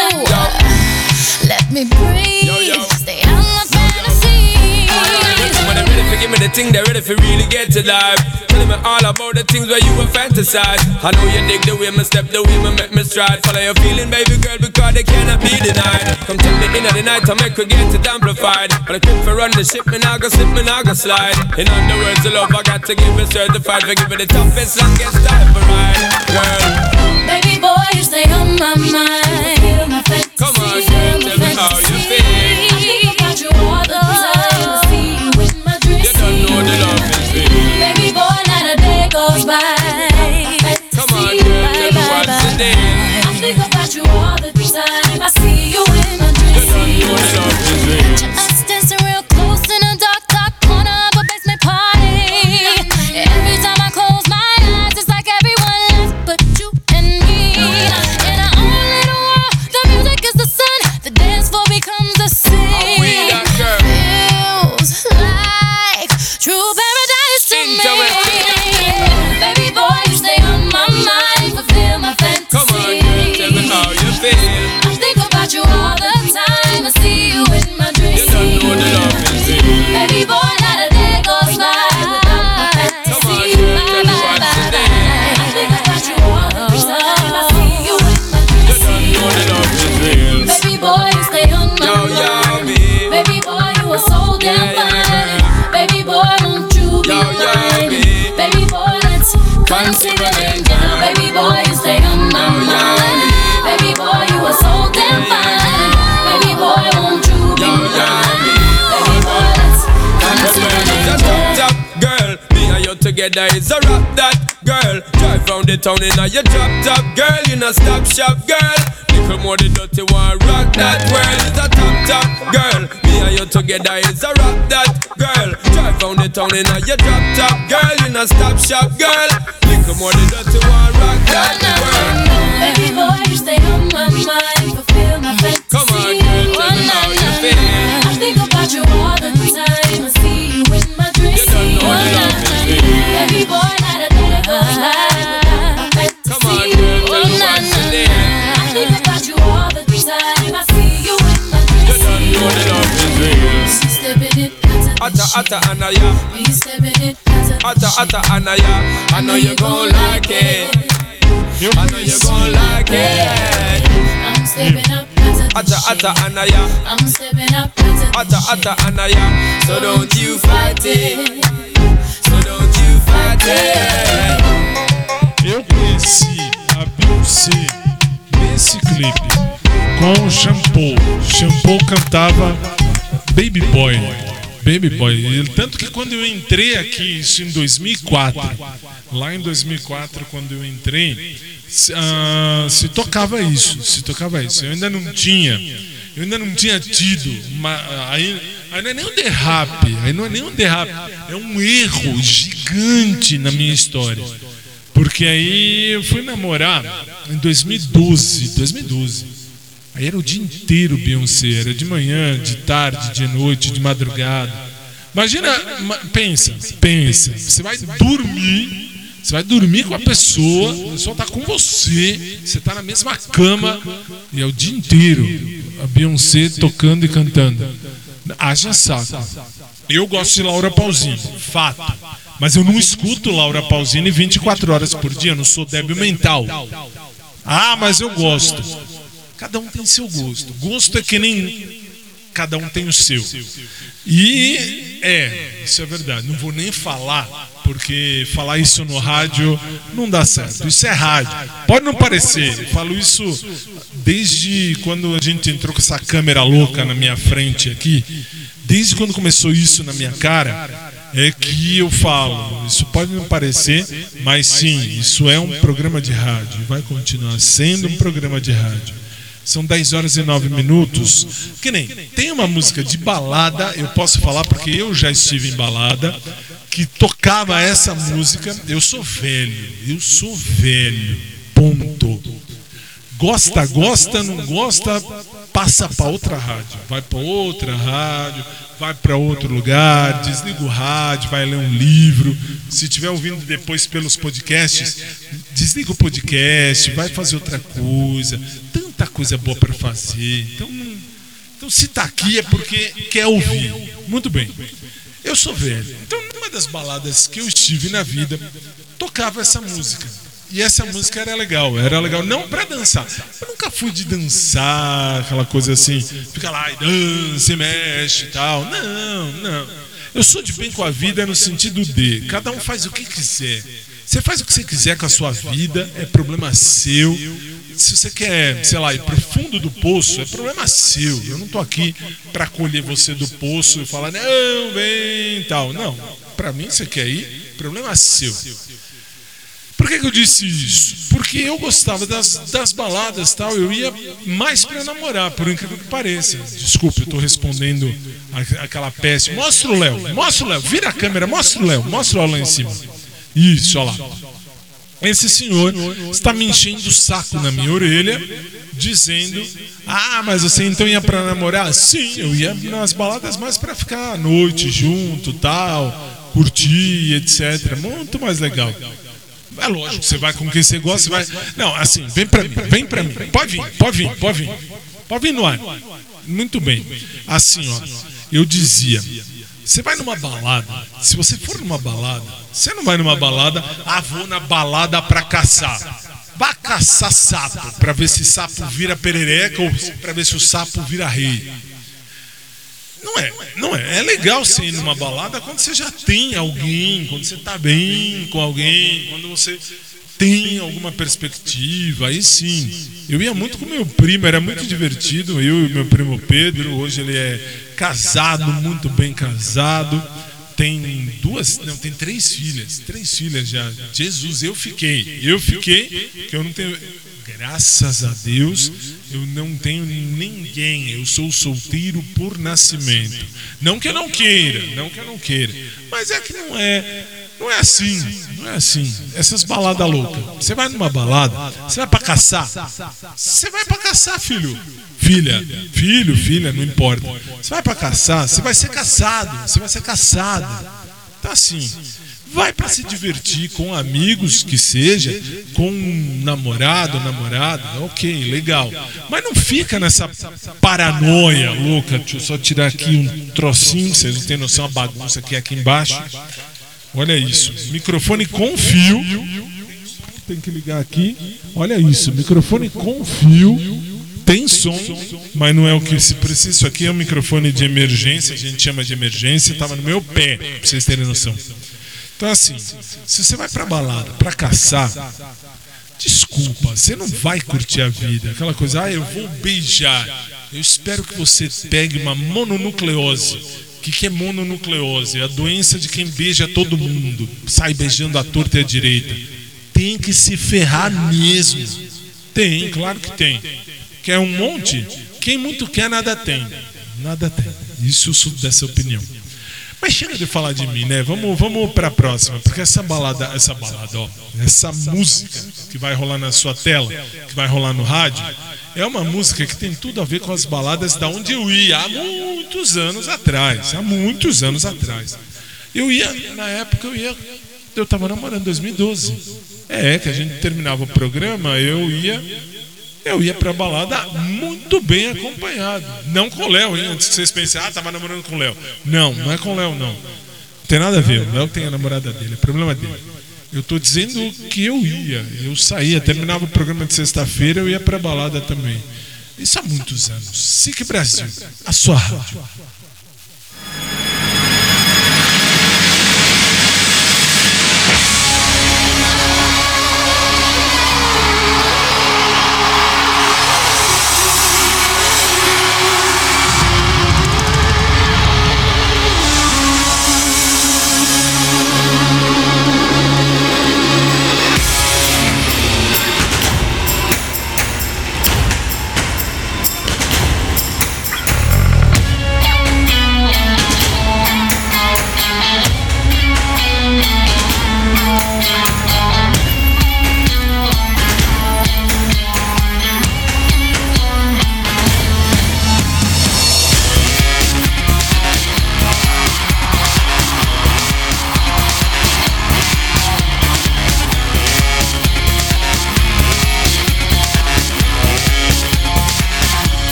Let me breathe. Yo, yo. Stay out my fantasy. When they're ready for give me the thing, they're ready for really get to life. Tell me all about the things where you were fantasize. I know you dig the way me step, the way me make me stride. Follow your feeling, baby girl, because they cannot be denied. Come tell me in the night to make we get it amplified. But I keep for run the ship, me nah go slip, me nah go slide. In other words, the love I got to give it certified. For give it the toughest, longest time for ride, girl. Baby boy, you stay on my mind. Feel my fantasy. Come on, girl, tell me how you feel. I think about you all the time. I see you in my dreams. You don't know the love is real. Baby boy, not a day goes by. Come on, girl, tell me what's the deal. I think about you all the time. I see you in my dreams. You don't know the love is real. Us dancing real close in a dark, dark corner of a basement party. Every time I close my eyes, it's like everyone left but you and me. In our own little world, the music is the sun. The dance floor becomes the sea. Feels like true paradise to me. Baby boy, you stay on my mind, fulfill my fantasy. Come on, girl, tell me how you feel. I think about you all the time. I see you in my dreams. You don't know the love is real. Baby boy, not a day goes by without my fantasy. Come on, girl, tell me what's the deal. I think about you all the time. I see you in my dreams. You don't know the love is real. Baby boy, you stay on my Yo, yo, mind. me. Baby boy, you are so damn Yeah, yeah, fine. Baby boy, won't you be Yo, yo, mine? me. Baby boy, let's consider it now. Baby boy, you stay on my Yo, yo, mind. me. Baby boy, you are so damn fine. Baby boy, won't you be Yo, yo, mine? me. Baby boy, let's consider it Just now. top, top, girl. Me and you together is a rap that, girl. Drive round the town in a your drop top, girl. You know stop shop, girl. Little more the dirty one, rock that world. It's a top, top, girl. Me and you together is a rap that, girl. Drive round the town in a your drop top, girl. You know stop shop, girl. Little more the dirty one, rock that world. Baby boy, you stay on my mind, fulfill my fantasy. Come on, girl, tell me how you feel. I think about you all the time. I see you in my dreams. You don't know the love is real. Baby boy, not a day goes by without my fantasy. Come on, girl, tell me what's the deal. I think about you all the time. I see you in my dreams. You don't know the love is real. Stepping it, Atta, atta, anaya. please stepping it, Atta, atta, anaya. I know you gon' like it. I know you gon' like it. I'm stepping up, Atta, atta, anaya. I'm stepping up, Atta, atta, anaya. So don't you fight it. So don't you fight it. Eu conheci a Beyoncé nesse clipe com o Shampoo. Shampoo cantava Baby Boy. Baby Boy. E tanto que quando eu entrei aqui, isso em dois mil e quatro, lá em dois mil e quatro, quando eu entrei, se, uh, se tocava isso, se tocava isso. Eu ainda não tinha, eu ainda não tinha tido uma, aí, aí não é nem um derrape, aí não é nem um derrape, é um erro gigante na minha história. Porque aí eu fui namorar em dois mil e doze, dois mil e doze. Aí era o dia inteiro Beyoncé, era de manhã, de tarde, de noite, de madrugada. Imagina, pensa, pensa, você vai dormir, você vai dormir com a pessoa, a pessoa tá com você, você tá na mesma cama e é o dia inteiro a Beyoncé tocando e cantando. Haja saco. Eu gosto de Laura Pausini, fato. Mas eu não escuto Laura Pausini vinte e quatro horas por dia, eu não sou débil mental. Ah, mas eu gosto. Cada um tem seu gosto. Gosto é que nem cada um tem o seu. E é, isso é verdade. Não vou nem falar, porque falar isso no rádio não dá certo. Isso é rádio. Pode não parecer. Eu falo isso desde quando a gente entrou com essa câmera louca na minha frente aqui. Desde quando começou isso na minha cara, é que eu falo. Isso pode não parecer, mas sim, isso é um programa de rádio. Vai continuar sendo um programa de rádio. São dez horas e nove minutos. Que nem, tem uma música de balada, eu posso falar porque eu já estive em balada, que tocava essa música. Eu sou velho, eu sou velho, ponto. Gosta, gosta, não gosta, passa para outra rádio. Vai para outra rádio, vai para outro lugar, desliga o rádio, vai ler um livro. Se estiver ouvindo depois pelos podcasts, desliga o podcast, vai fazer outra coisa. Tanta coisa boa para fazer. Então, então se tá aqui é porque quer ouvir. Muito bem. Eu sou velho. Então, numa das baladas que eu estive tive na vida, tocava essa música. E essa música era legal, era legal não pra dançar. Eu nunca fui de dançar, aquela coisa assim, fica lá e dança e mexe e tal. Não, não. Eu sou de bem com a vida no sentido de cada um faz o que quiser. Você faz o que você quiser com a sua vida, é problema seu. Se você quer, sei lá, ir pro fundo do poço, é problema seu. Eu não tô aqui pra colher você do poço e falar, não, vem e tal. Não, pra mim você quer ir, problema seu. Por que que eu disse isso? Porque eu gostava das, das baladas e tal, eu ia mais pra namorar, por incrível que pareça. Desculpe, eu tô respondendo a, aquela peça. Mostra o Léo, mostra o Léo, vira a câmera, mostra o Léo, mostra o Léo lá em cima. Isso, olha lá. Esse senhor está me enchendo o saco na minha orelha, dizendo, ah, mas você então ia pra namorar? Sim, eu ia nas baladas mais pra ficar à noite junto, tal, curtir, etcétera. Muito mais legal. É lógico, você vai com quem você gosta, você vai... Não, assim, vem pra mim, vem pra mim. Pode vir, pode vir, pode vir. Pode vir no ar. Muito bem. Assim, ó, eu dizia, você vai numa balada, se você for numa balada, você não vai numa balada, ah, vou na balada pra caçar. Vá caçar sapo, pra ver se sapo vira perereca ou pra ver se o sapo vira rei. Não é, não é. É legal você ir numa balada quando você já tem alguém, quando você tá bem com alguém, quando você tem alguma perspectiva, aí sim. Eu ia muito com meu primo, era muito divertido, eu e meu primo Pedro, hoje ele é casado, muito bem casado, tem duas, não, tem três filhas, três filhas já. Jesus, eu fiquei, eu fiquei, que eu não tenho... Graças a Deus, eu não tenho ninguém. Eu sou solteiro por nascimento. Não que eu não queira, não que eu não queira. Mas é que não é, não é assim, não é assim. Essas baladas loucas. Você vai numa balada, você vai pra caçar. Você vai pra caçar, filho. Filha, filho, filha, não importa. Você vai pra caçar, você vai ser caçado, você vai ser caçado. Tá assim. Vai para se divertir com amigos, que seja, com um namorado, namorada, ok, legal. Mas não fica nessa paranoia louca. Deixa eu só tirar aqui um trocinho, vocês não têm noção, a bagunça que é aqui embaixo. Olha isso, microfone com fio. Tem que ligar aqui. Olha isso, microfone com fio. Tem som, mas não é o que se precisa. Isso aqui é um microfone de emergência, a gente chama de emergência, estava no meu pé, para vocês terem noção. Então assim, se você vai pra balada, pra caçar, desculpa, você não vai curtir a vida. Aquela coisa, ah, eu vou beijar. Eu espero que você pegue uma mononucleose. O que, que é mononucleose? É a doença de quem beija todo mundo, sai beijando a torta e a direita. Tem que se ferrar mesmo. Tem, claro que tem. Quer um monte? Quem muito quer, nada tem. Nada tem. Isso eu sou dessa opinião. Mas chega de falar de mim, né? Vamos, vamos para a próxima, porque essa balada, essa balada, ó, essa música que vai rolar na sua tela, que vai rolar no rádio, é uma música que tem tudo a ver com as baladas da onde eu ia há muitos anos atrás, há muitos anos atrás. Eu ia, na época eu ia, eu estava namorando em dois mil e doze. É, que a gente terminava o programa, eu ia Eu ia pra balada muito bem acompanhado. Não com o Léo, hein? Antes que vocês pensem, ah, tava namorando com o Léo. Não, não é com o Léo, não. Não tem nada a ver. O Léo tem a namorada dele, é problema dele. Eu tô dizendo que eu ia. Eu saía, terminava o programa de sexta-feira, eu ia pra balada também. Isso há muitos anos. S I C Brasil, a sua rádio. We'll be right back.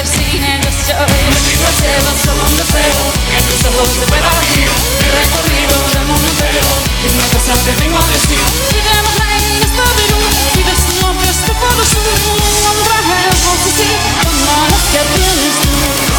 I've seen and destroyed. Me pido al cielo solo un deseo, que tus ojos se puedan abrir. He recorrido el mundo entero, y una cosa te vengo a decir. Vivemos lejos de Perú, y desde el norte hasta el polo sur. Un traje hermoso así, como las que tienes tú.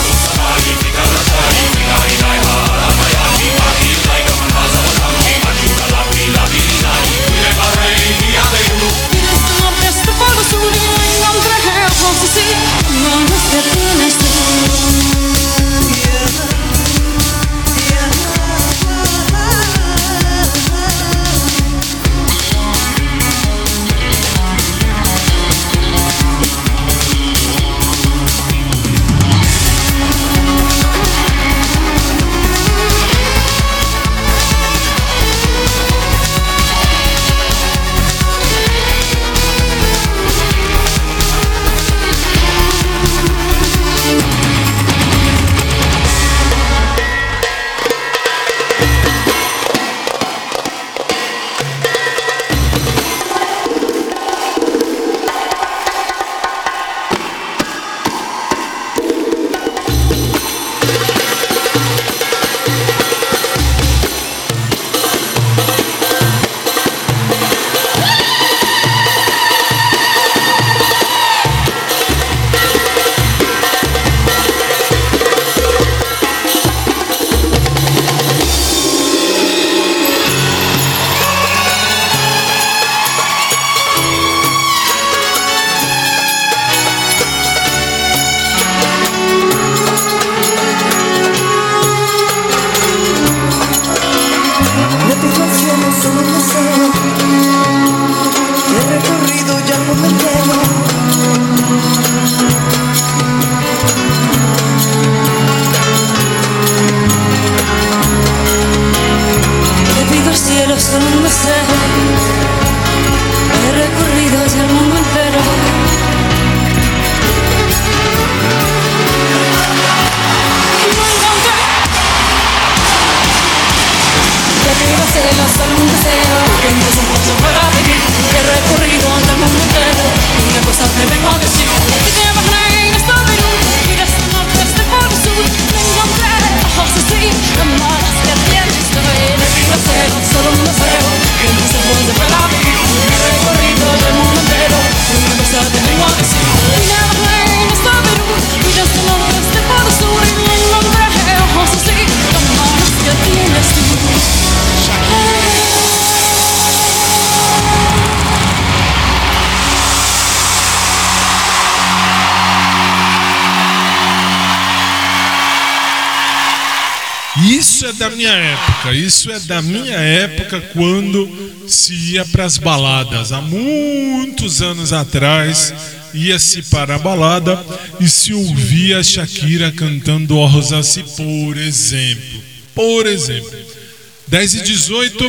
Isso é da minha época, isso é da minha época quando se ia para as baladas. Há muitos anos atrás ia-se para a balada e se ouvia a Shakira cantando O Rosace, por exemplo. Por exemplo. dez e dezoito,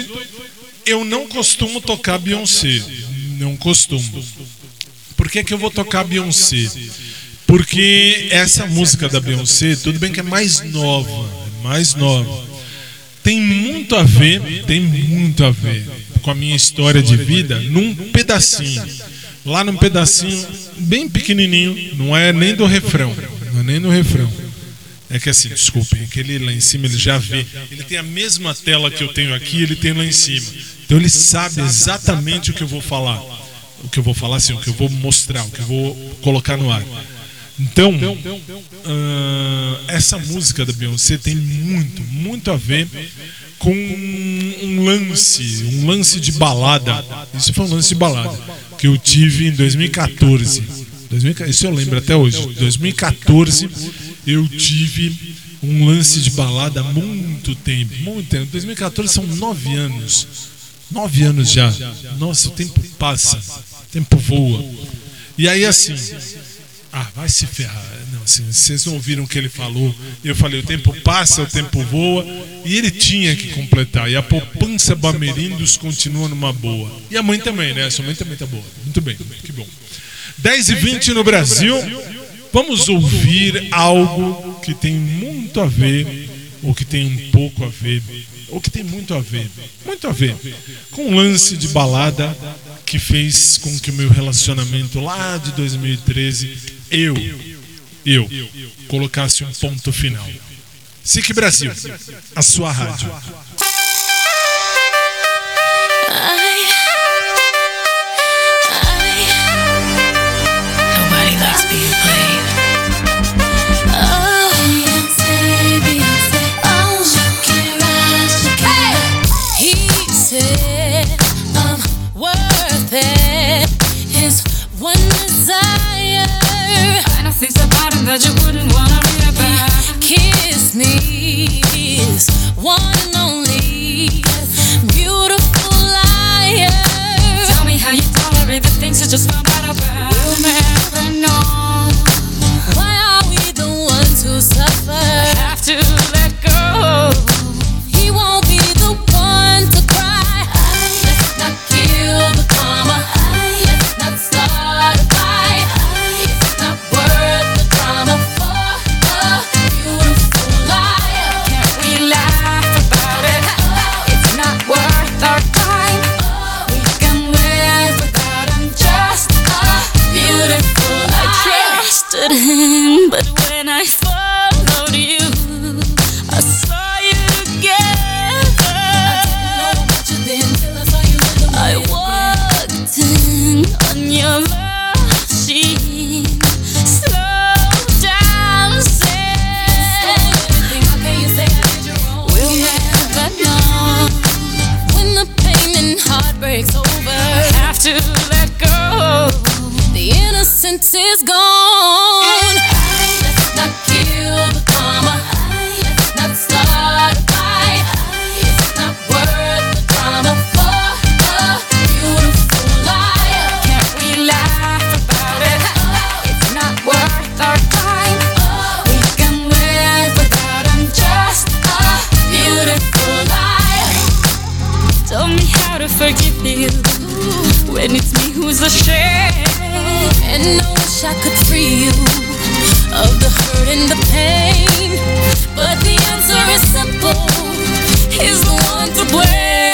eu não costumo tocar Beyoncé. Não costumo. Por que que eu vou tocar Beyoncé? Porque essa música da Beyoncé, tudo bem que é mais nova, mais nova. Tem muito a ver, tem muito a ver com a minha história de vida num pedacinho. Lá num pedacinho bem pequenininho, não é nem do refrão, não é nem do refrão. É que assim, desculpe, aquele lá em cima ele já vê, ele tem a mesma tela que eu tenho aqui, ele tem lá em cima. Então ele sabe exatamente o que eu vou falar. O que eu vou falar assim, o que eu vou mostrar, o que eu vou colocar no ar. Então, uh, essa música da Beyoncé tem muito, muito a ver com um lance, um lance de balada. Isso foi um lance de balada que eu tive em dois mil e quatorze. Isso eu lembro até hoje. Em dois mil e quatorze eu tive um lance de balada há muito tempo, muito tempo. dois mil e quatorze são nove anos. Nove anos já. Nossa, o tempo passa, o tempo voa. E aí assim, ah, vai se ferrar. Não, assim, vocês não ouviram o que ele falou. Eu falei, o tempo passa, o tempo voa. E ele tinha que completar. E a poupança Bamerindos continua numa boa. E a mãe também, né? A sua mãe também tá boa. Muito bem, que bom. dez e vinte no Brasil. Vamos ouvir algo que tem muito a ver, ou que tem um pouco a ver, ou que tem muito a ver, muito a ver, com um lance de balada que fez com que o meu relacionamento lá de dois mil e treze, eu, eu colocasse um ponto final. S I C Brasil, a sua rádio. Nobody likes being played. Oh, Beyonce, Beyonce. Oh, Shakira, Shakira. He said I'm worth it. His one desire. Find things about him that you wouldn't wanna read about. Kiss me, his one and only beautiful liar. Tell me how you tolerate the things you just found out about. We'll never know. Why are we the ones who suffer? I have to let go. He won't be the one to cry. Let's not kill the karma. Let's not start a fight. It's not worth the drama for a beautiful liar. Can't we laugh about it? It's not worth our time. We can live without him, just a beautiful liar. I trusted him, but when I followed you, I saw you together. I didn't know about you then till I saw you with the I walked in on your machine, slow dancing. How can you say I did you wrong? We'll never know. When the pain and heartbreak's over, I have to let go. The innocence is gone. Let's not kill the karma. Let's not start a fight. It's not worth the drama for a beautiful liar. Can't we laugh about it? It's not worth our time. We can live without him, just a beautiful liar. Tell me how to forgive you when it's me who's ashamed. And I wish I could free you of the hurt and the pain, but the answer is simple. He's the one to blame.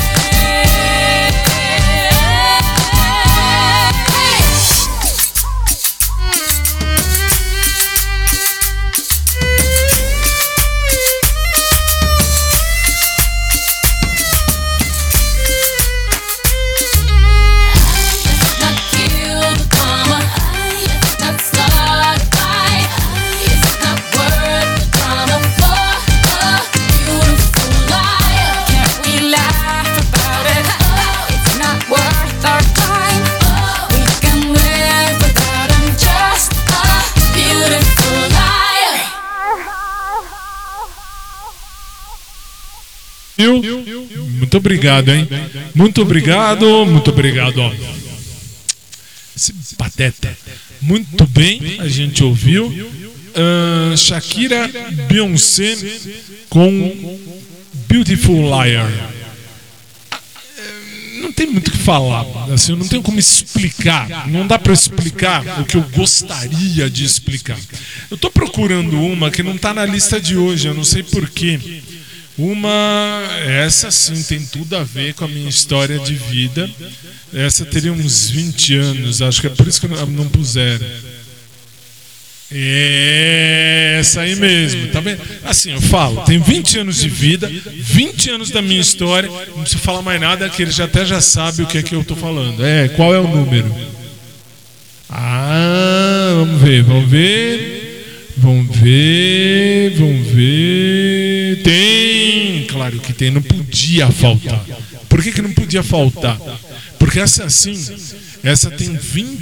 Let's not kill the karma. Let's not start a fight. It's not worth the drama for a beautiful liar. Can't we laugh about it? It's not worth our time. We can live without him, just a beautiful liar. Viu? Muito obrigado, hein? Muito obrigado, muito obrigado. Ó. Esse pateta. Muito bem, a gente ouviu. Uh, Shakira Beyoncé com Beautiful Liar. Não tem muito o que falar, assim, eu não tenho como explicar, não dá para explicar o que eu gostaria de explicar. Eu tô procurando uma que não tá na lista de hoje, eu não sei porquê. Uma, essa sim tem tudo a ver com a minha história de vida. Essa teria uns vinte anos, acho que é por isso que não, não puseram. É essa aí mesmo, tá vendo? Assim, eu falo, tem vinte anos de vida, vinte anos da minha história, não preciso falar mais nada, que ele já até já sabe o que é que eu tô falando. É, qual é o número? Ah, vamos ver, vamos ver, vamos ver, vamos ver. Tem, claro que tem, não podia faltar. Por que que não podia faltar? Porque essa assim, essa tem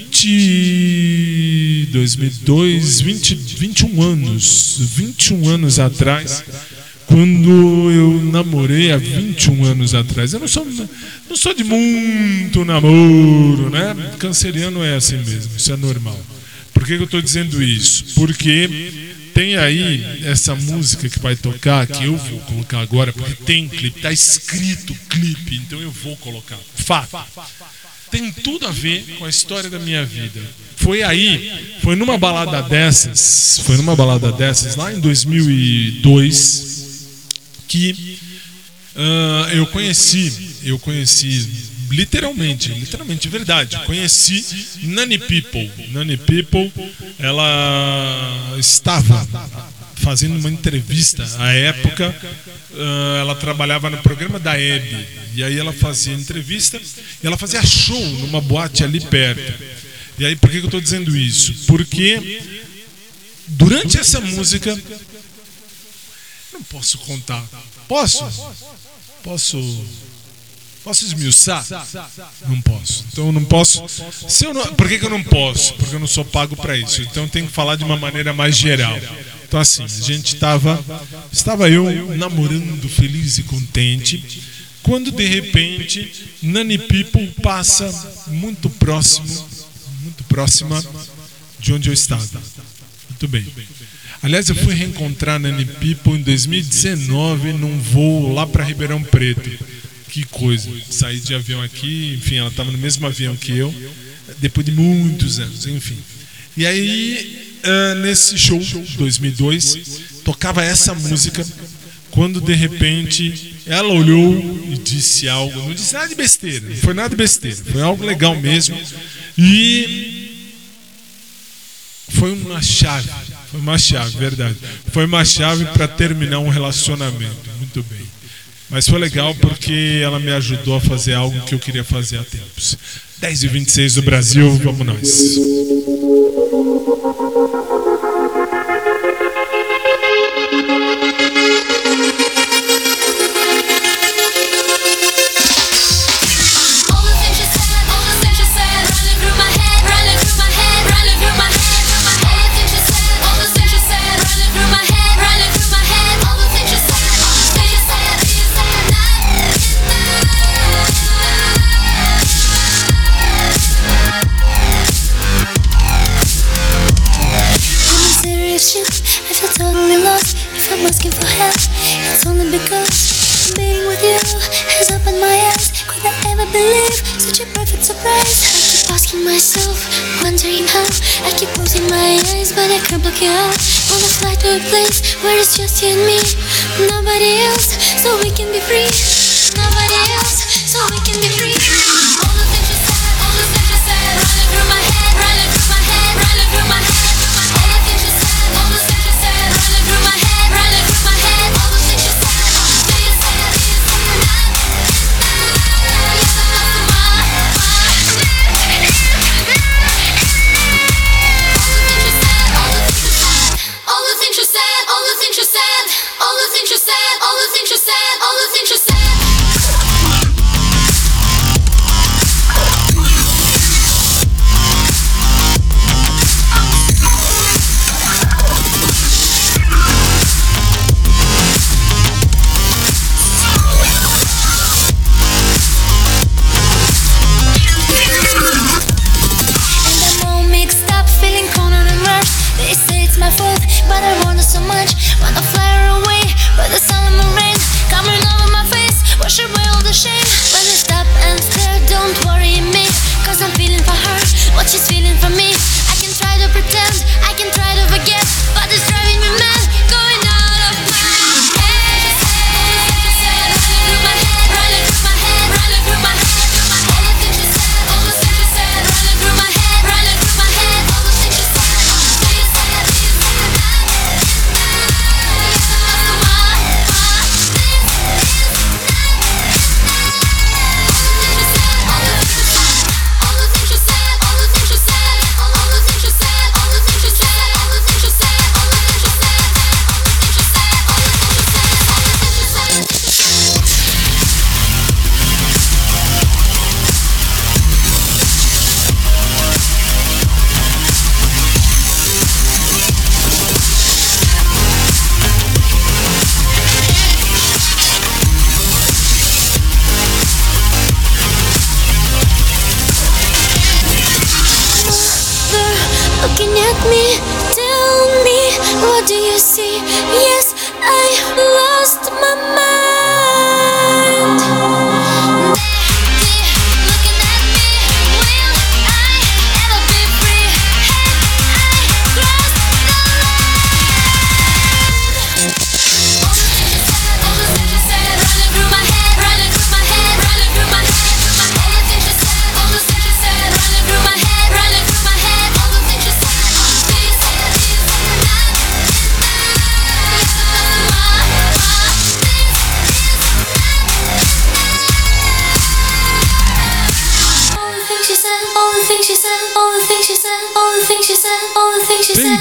vinte, dois mil e dois, vinte, vinte e um anos, vinte e um anos atrás, quando eu namorei há vinte e um anos atrás. Eu não sou, não sou de muito namoro, né? Canceriano é assim mesmo, isso é normal. Por que que eu estou dizendo isso? Porque tem aí essa música que vai tocar, que eu vou colocar agora, porque tem clipe, está escrito clipe, então eu vou colocar. Fato. Tem tudo a ver com a história da minha vida. Foi aí, foi numa balada dessas, foi numa balada dessas, lá em dois mil e dois, que uh, eu conheci, eu conheci literalmente, literalmente, verdade. Conheci Nani People. Nani People, ela estava fazendo uma entrevista. À época, ela trabalhava no programa da Hebe. E aí ela fazia entrevista e ela fazia show numa boate ali perto. E aí, por que eu estou dizendo isso? Porque durante essa música, não posso contar. Posso? Posso? Posso esmiuçar? Não posso. Então eu não posso. Se eu não, por que, que eu não posso? Porque eu não sou pago para isso. Então eu tenho que falar de uma maneira mais geral. Então assim, a gente estava, estava eu namorando, feliz e contente, quando de repente Nani People passa muito próximo, muito próxima de onde eu estava. Muito bem. Aliás, eu fui reencontrar Nani People em dois mil e dezenove num voo lá para Ribeirão Preto. Que coisa, saí de avião aqui, enfim, ela estava no mesmo avião que eu, depois de muitos anos, enfim. E aí, uh, nesse show, dois mil e dois, tocava essa música, quando de repente ela olhou e disse algo, não disse nada de besteira, não foi nada de besteira, foi algo legal mesmo, e foi uma chave, foi uma chave, verdade, foi uma chave para terminar um relacionamento, muito bem. Mas foi legal porque ela me ajudou a fazer algo que eu queria fazer há tempos. dez e vinte e seis do Brasil, vamos nós. Asking for help, it's only because being with you has opened my eyes. Could I ever believe such a perfect surprise? I keep asking myself, wondering how. I keep closing my eyes, but I can't block you out. Wanna fly to a place where it's just you and me, nobody else, so we can be free. Nobody else, so we can be free. All the things you said, all the things you said, running through my head, running through my head, running through my head. All the things you said, all the things you said, running through my head.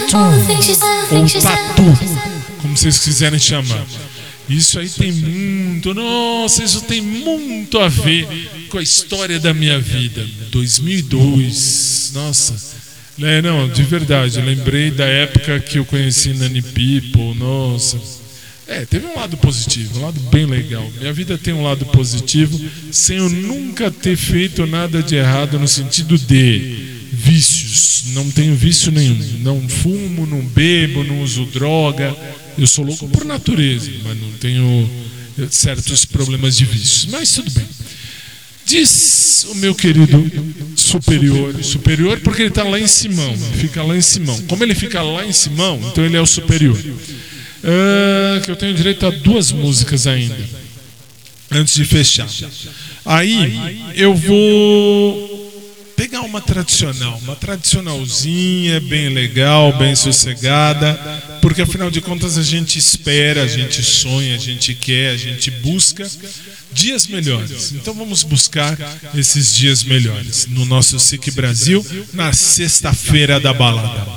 ou tatu, como vocês quiserem chamar. Isso aí tem muito, nossa, isso tem muito a ver com a história da minha vida. dois mil e dois, nossa, é, não, de verdade, eu lembrei da época que eu conheci Nani People, nossa. É, teve um lado positivo, um lado bem legal. Minha vida tem um lado positivo, sem eu nunca ter feito nada de errado no sentido de vícios. Não tenho vício nenhum. Não fumo, não bebo, não uso droga. Eu sou louco por natureza, mas não tenho certos problemas de vícios. Mas tudo bem. Diz o meu querido superior, superior porque ele está lá em Simão, fica lá em Simão. Como ele fica lá em Simão, então ele é o superior. Uh, que eu tenho direito a duas músicas ainda, antes de fechar. Aí eu vou pegar uma tradicional, uma tradicionalzinha, bem legal, bem sossegada, porque afinal de contas a gente espera, a gente sonha, a gente quer, a gente busca dias melhores. Então vamos buscar esses dias melhores no nosso S I C Brasil, na sexta-feira da balada.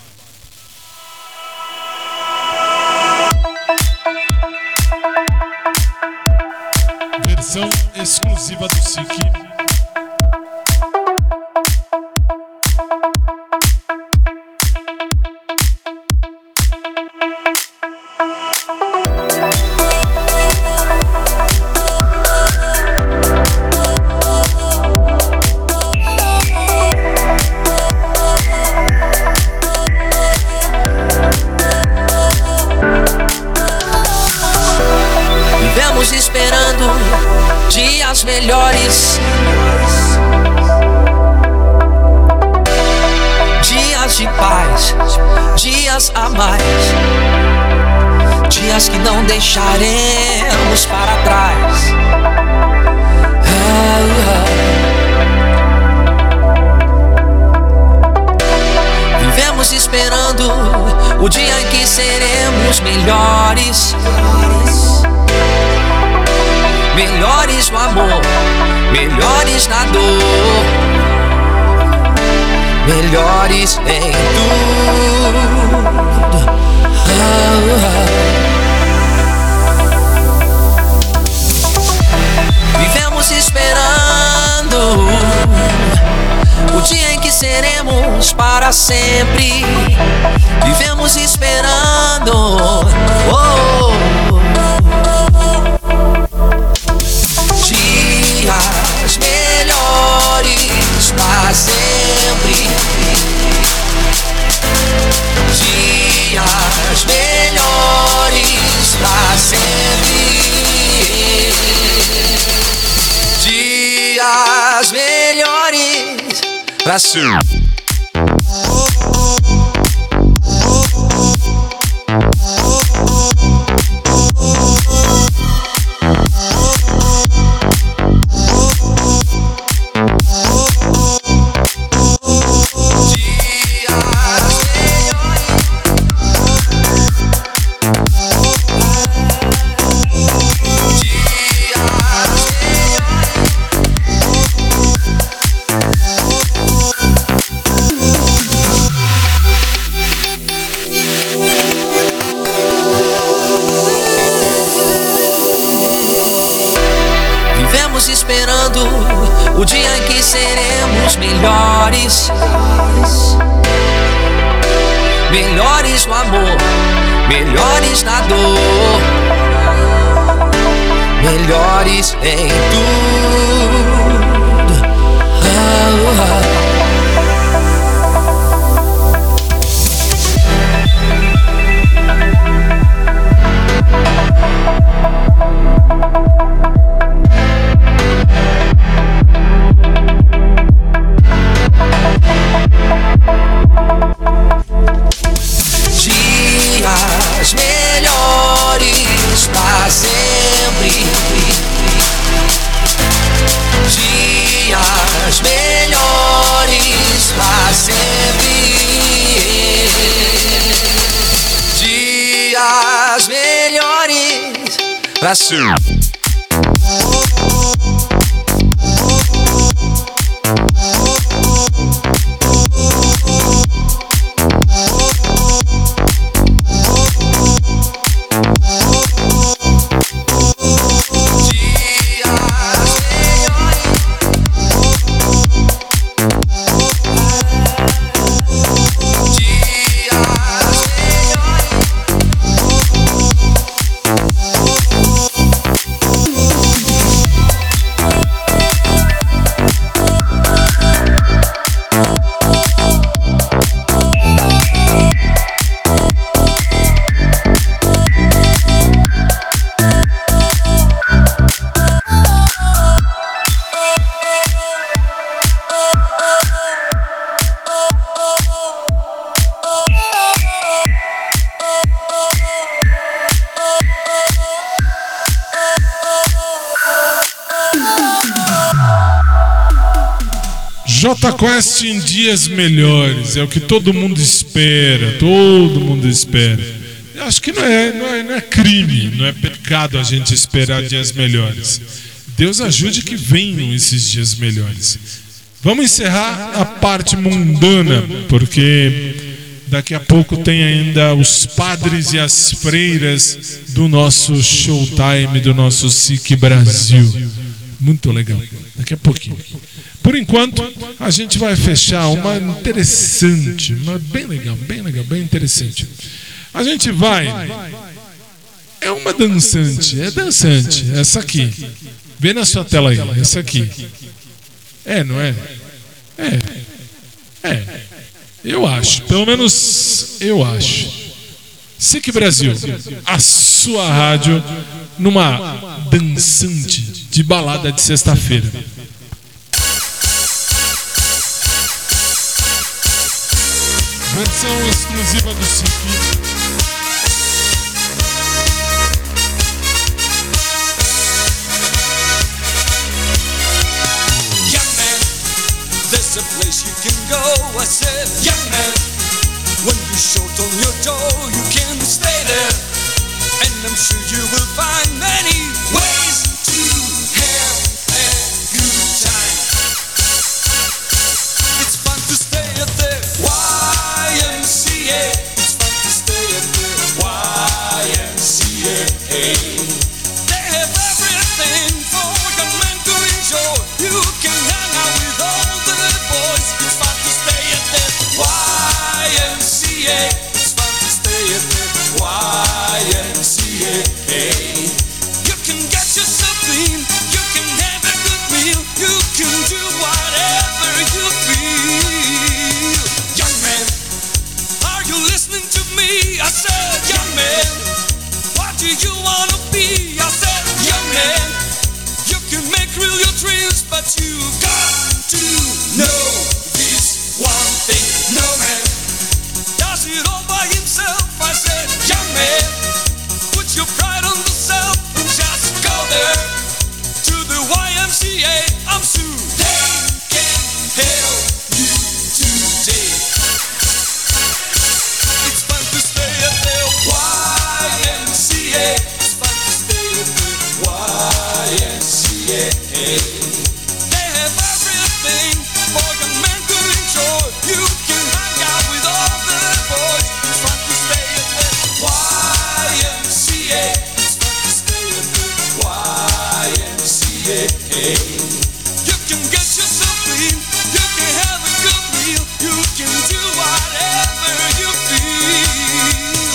Versão exclusiva do S I C. Vivemos esperando dias melhores, dias de paz, dias a mais, dias que não deixaremos para trás. Vivemos esperando o dia em que seremos melhores. Melhores no amor, melhores na dor, melhores em tudo. Oh, oh. Vivemos esperando o dia em que seremos para sempre. Vivemos esperando. Oh, dias melhores pra sempre. Dias melhores pra sempre. Dias melhores pra sempre. Esperando o dia em que seremos melhores. Melhores no amor, melhores na dor, melhores em tudo. Oh, oh. Dias melhores pra sempre. Dias melhores pra sempre. Dias melhores pra sempre. J Quest em dias melhores, é o que todo mundo espera, todo mundo espera. Eu acho que não é, não é, não é crime, não é pecado a gente esperar dias melhores. Deus ajude que venham esses dias melhores. Vamos encerrar a parte mundana, porque daqui a pouco tem ainda os padres e as freiras do nosso Showtime, do nosso S I C Brasil. Muito legal, daqui a pouquinho. Por enquanto, a gente vai fechar uma interessante, uma bem legal, bem legal, bem interessante. A gente vai... É uma dançante, é dançante, essa aqui. Vê na sua tela aí, essa aqui. É, não é? É. É. Eu acho, pelo menos eu acho. S I C Brasil, a sua rádio numa dançante de balada de sexta-feira. Versão exclusiva do S I C. There's a place you can go, I said, young man. When you short on your door, you can stay there. And I'm sure you will find many ways to have a good time. It's fun to stay at the Y M C A. It's fun to stay at the Y M C A. They have everything for young men to enjoy. You can hang out with all the boys. It's fun to stay at the Y M C A. It's fun to stay at the Y M C A. You can get yourself clean. You can have a good meal. You can do whatever you feel. Young man, are you listening to me? I said, young man, what do you wanna be? I said, young man, you can make real your dreams, but you got to know this one thing. No man does it all by himself. I said, young man, put your pride on yourself and just go there to the Y M C A. I'm sure they can help you today. It's fun to stay at the Y M C A. It's fun to stay at the Y M C A. They have everything for young men to enjoy. You can hang out with all the boys. It's fun to stay at the Y M C A. It's fun to stay at the Y M C A. You can get yourself clean. You can have a good meal. You can do whatever you feel.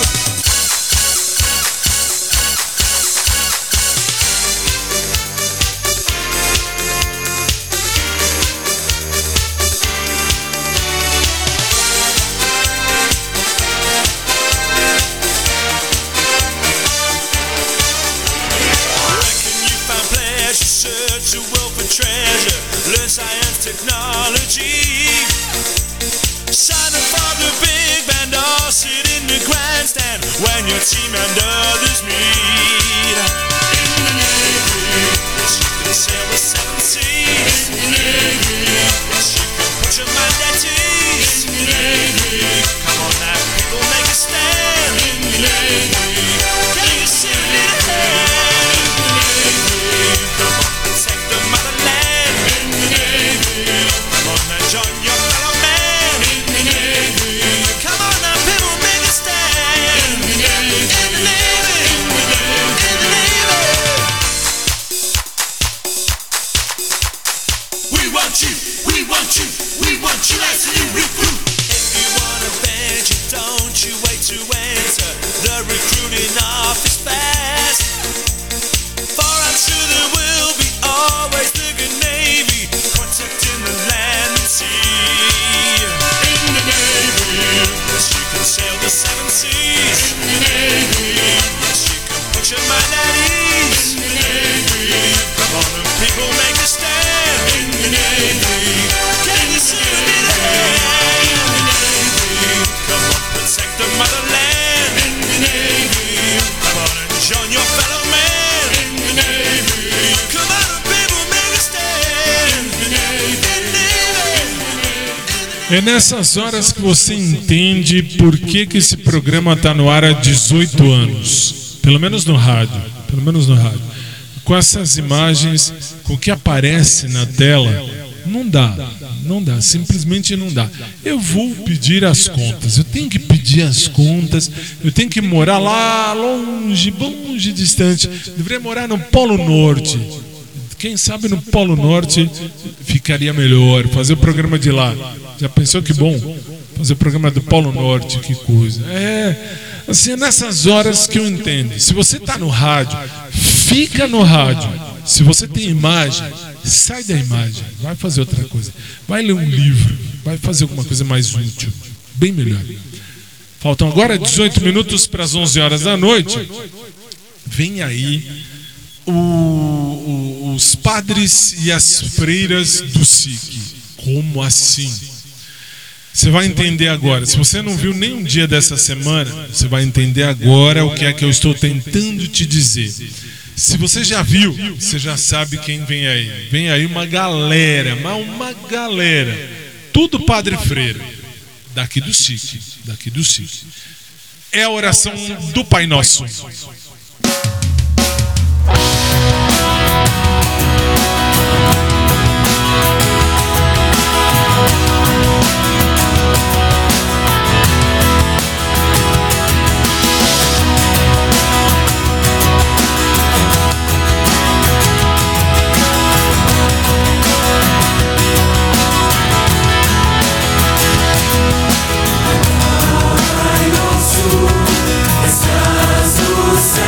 Reckon you found pleasure, search the world for treasure, learn science, technology. Sign up for the big band or sit in the grandstand when your team and others meet. In the Navy, yes, you can sail the seven seas. In the Navy, yes, you can put your mind at ease. In the Navy, come on now, people, make a stand. In the Navy, can you see a little hand? In the Navy, come on, protect the motherland. In the Navy, come on and join your fellow man. In the Navy, come on now, people, make a stand. In the Navy, in the Navy, in the Navy. We want you, we want you, we want you as a new recruit. If you wanna venture, don't you wait to enter the recruiting office fast. For I'm sure there will be always the good Navy protecting the land and sea. In the Navy, yes, you can sail the seven seas. In the Navy, yes, you can put your mind at ease. In the Navy, come on and people, make a stand. In the Navy, can you see a little hand? In the Navy, come on, protect the motherland. In the Navy, come on and join your fellow man. In the Navy, come on and people, make a stand. In the Navy, in the Navy. É nessas horas que você entende por que, que esse programa está no ar há dezoito anos. Pelo menos no rádio. Pelo menos no rádio. Com essas imagens, com o que aparece na tela, não dá. Não dá. Simplesmente não dá. Eu vou pedir as contas. Eu tenho que pedir as contas. Eu tenho que morar lá longe, longe, distante. Deveria morar no Polo Norte. Quem sabe no Polo Norte ficaria melhor. Fazer o programa de lá. Já pensou que bom? Fazer o programa do Polo Norte, que coisa. É, assim, é nessas horas que eu entendo. Se você está no rádio, fica no rádio. Se você tem imagem, sai da imagem. Vai fazer outra coisa. Vai ler um livro. Vai fazer alguma coisa mais útil. Bem melhor. Faltam agora dezoito minutos para as onze horas da noite. Vem aí o, o, os padres e as freiras do S I C. Como assim? Você vai entender agora. Se você não viu nenhum dia dessa semana, você vai entender agora o que é que eu estou tentando te dizer. Se você já viu, você já sabe quem vem aí. Vem aí uma galera, uma galera. Tudo padre freira. Daqui do S I C. Daqui do S I C. É a oração do Pai Nosso. Estás no céu.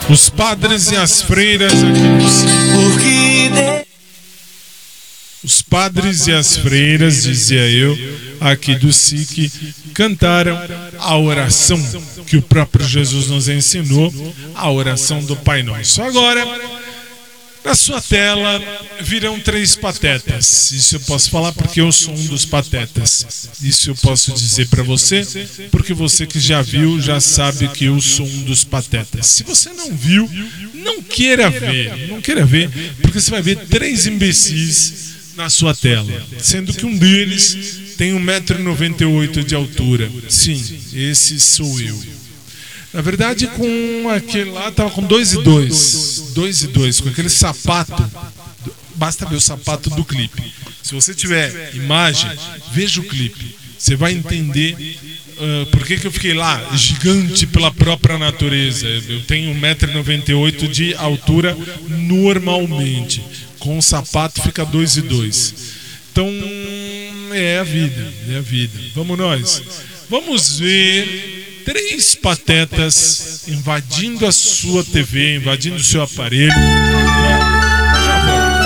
Os padres e as freiras aqui do SIC. Os padres e as freiras, dizia eu, aqui do SIC, cantaram a oração que o próprio Jesus nos ensinou, a oração do Pai Nosso. Agora, na sua tela virão três patetas. Isso eu posso falar porque eu sou um dos patetas. Isso eu posso dizer para você, porque você que já viu já sabe que eu sou um dos patetas. Se você não viu, não queira ver, não queira ver, porque você vai ver três imbecis na sua tela, sendo que um deles tem um metro e noventa e oito de altura. Sim, esse sou eu. Na verdade, com aquele lá, tava com dois e dois. dois e dois, com aquele sapato. Basta ver o sapato do clipe. Se você tiver imagem, veja o clipe. Você vai entender uh, por que, que eu fiquei lá, gigante pela própria natureza. Eu tenho um metro e noventa e oito de altura normalmente. Com o sapato fica dois e dois. Então, é a vida, é a vida. Vamos nós. Vamos ver três patetas invadindo a sua T V, invadindo o seu aparelho. Já volto.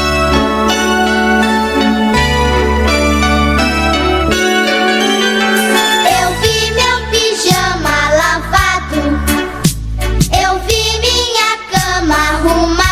Eu vi meu pijama lavado, eu vi minha cama arrumada.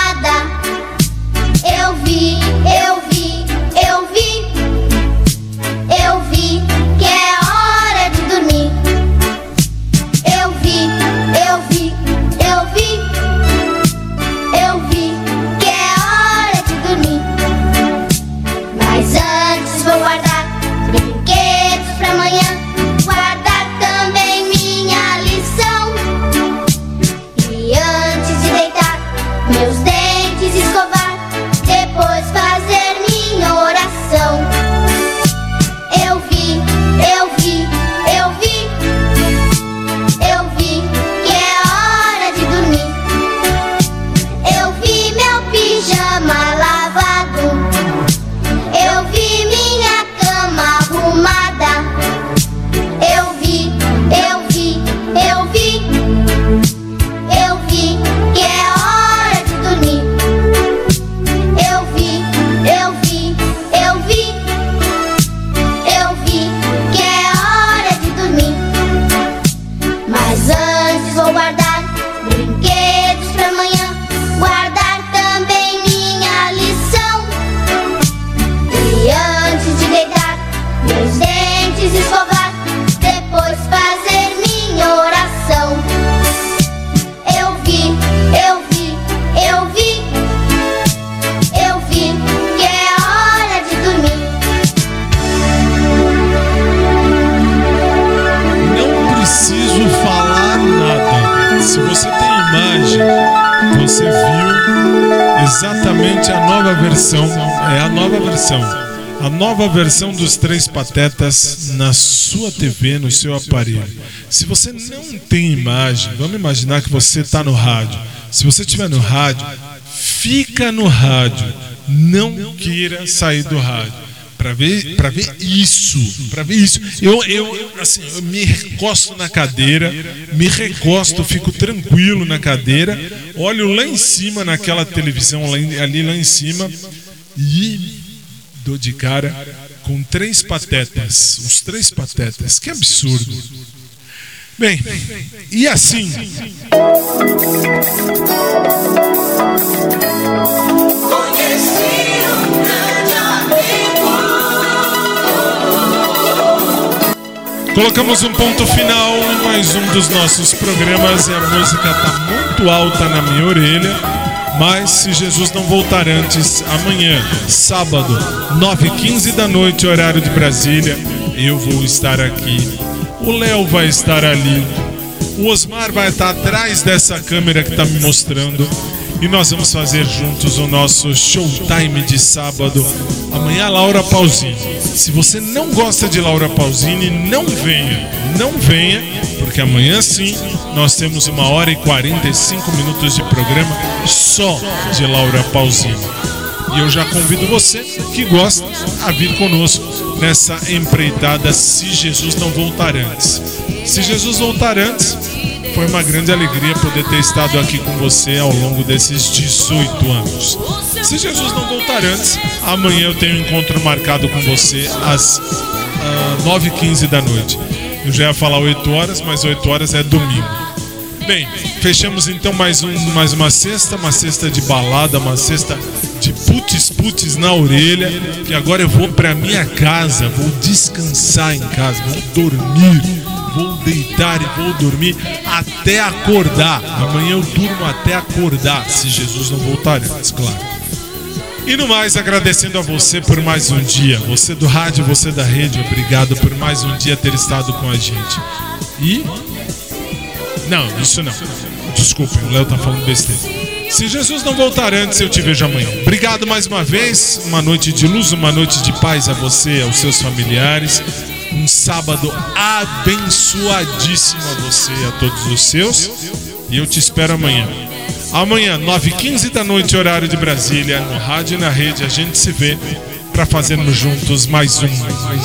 Eu vi, eu vi, eu vi, eu vi que é hora de dormir. Eu vi, eu vi, eu vi, eu vi que é hora de dormir. Mas antes vou guardar brinquedos pra amanhã, guardar também minha lição. E antes de deitar, meus dentes escovar, depois fazer minha oração. Eu vi, eu vi, eu vi, eu vi que é hora de dormir. Eu vi meu pijama lavado, eu vi minha cama arrumada. Eu vi, eu vi, eu vi, eu vi que é hora de dormir. Eu vi, eu vi, eu vi, eu vi que é hora de dormir. Mas antes vou guardar brinquedos pra amanhã, guardar também minha lição. E antes de deitar, meus dentes escovar, depois fazer minha oração. Eu vi, eu vi, eu vi, eu vi que é hora de dormir. Não preciso falar nada. Se você tem imagem, você viu exatamente a nova versão. É a nova versão. A nova versão dos Três Patetas na sua T V, no seu aparelho. Se você não tem imagem, vamos imaginar que você está no rádio. Se você estiver no rádio, fica no rádio. Não queira sair do rádio. Para ver, para ver isso, para ver isso. Eu, eu, assim, eu me recosto na cadeira, me recosto, fico tranquilo na cadeira, olho lá em cima naquela televisão lá em- ali lá em cima e dou de cara com três patetas, os três patetas. Que absurdo. Bem, e assim. Colocamos um ponto final em mais um dos nossos programas e a música está muito alta na minha orelha. Mas se Jesus não voltar antes, amanhã, sábado, nove e quinze da noite, horário de Brasília, eu vou estar aqui. O Léo vai estar ali. O Osmar vai estar atrás dessa câmera que está me mostrando. E nós vamos fazer juntos o nosso showtime de sábado. Amanhã, Laura Pausini. Se você não gosta de Laura Pausini, não venha. Não venha, porque amanhã sim nós temos uma hora e quarenta e cinco minutos de programa só de Laura Pausini. E eu já convido você que gosta a vir conosco nessa empreitada se Jesus não voltar antes. Se Jesus voltar antes, foi uma grande alegria poder ter estado aqui com você ao longo desses dezoito anos. Se Jesus não voltar antes, amanhã eu tenho um encontro marcado com você às uh, nove e quinze da noite. Eu já ia falar oito horas, mas oito horas é domingo. Bem, fechamos então mais, um, mais uma sexta, uma sexta de balada, uma sexta de putz-putz na orelha, que agora eu vou pra minha casa, vou descansar em casa, vou dormir, vou deitar e vou dormir até acordar. Amanhã eu durmo até acordar, se Jesus não voltar antes, claro. E no mais, agradecendo a você por mais um dia, você do rádio, você da rede, obrigado por mais um dia ter estado com a gente. E... Não, isso não. Desculpe, o Léo tá falando besteira. Se Jesus não voltar antes, eu te vejo amanhã. Obrigado mais uma vez. Uma noite de luz, uma noite de paz a você, aos seus familiares. Um sábado abençoadíssimo a você e a todos os seus. E eu te espero amanhã. Amanhã, nove e quinze da noite, horário de Brasília, no rádio e na rede, a gente se vê para fazermos juntos mais um.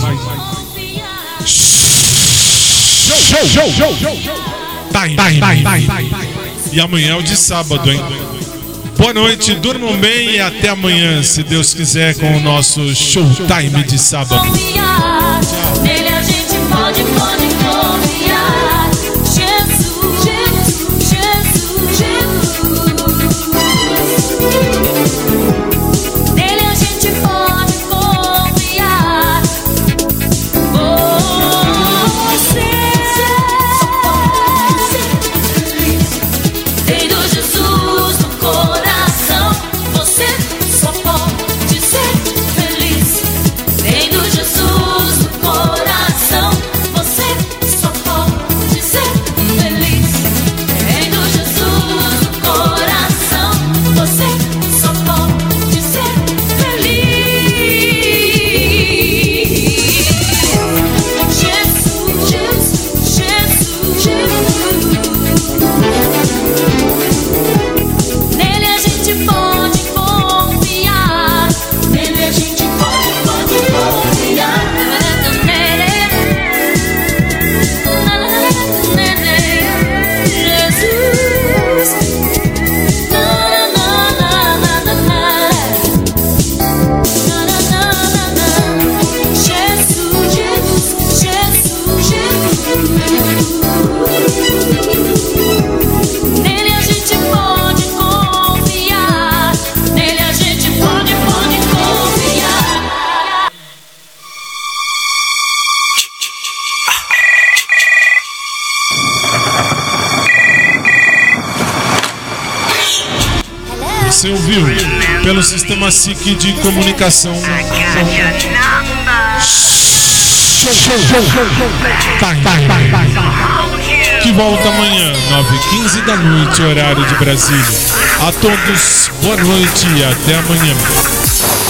Show, show, show, show. Time, time, time, time. E amanhã é o de sábado, hein? Boa noite, durmam bem e até amanhã, se Deus quiser, com o nosso Showtime de sábado. Nele a gente pode, pode confiar. Jesus, Jesus, Jesus, Jesus. Nele a gente pode confiar. Você tendo Jesus no coração, você só pode ser feliz. Tendo Jesus no coração, você só pode ser feliz. Tendo Jesus no coração, você só pode ser feliz. Jesus, Jesus, Jesus, Jesus. Nele a gente pode confiar. Nele a gente pode, pode confiar. Nele, Jesus. Na, na, na, na, na, na. Na, na, na, na, na. Jesus, Jesus, Jesus, Jesus. Nele a gente pode confiar. Nele a gente pode, pode confiar. Você ouviu pelo sistema S I C de comunicação. Show, show, show, time, time. Que volta amanhã, nove e quinze da noite, horário de Brasília. A todos, boa noite e até amanhã.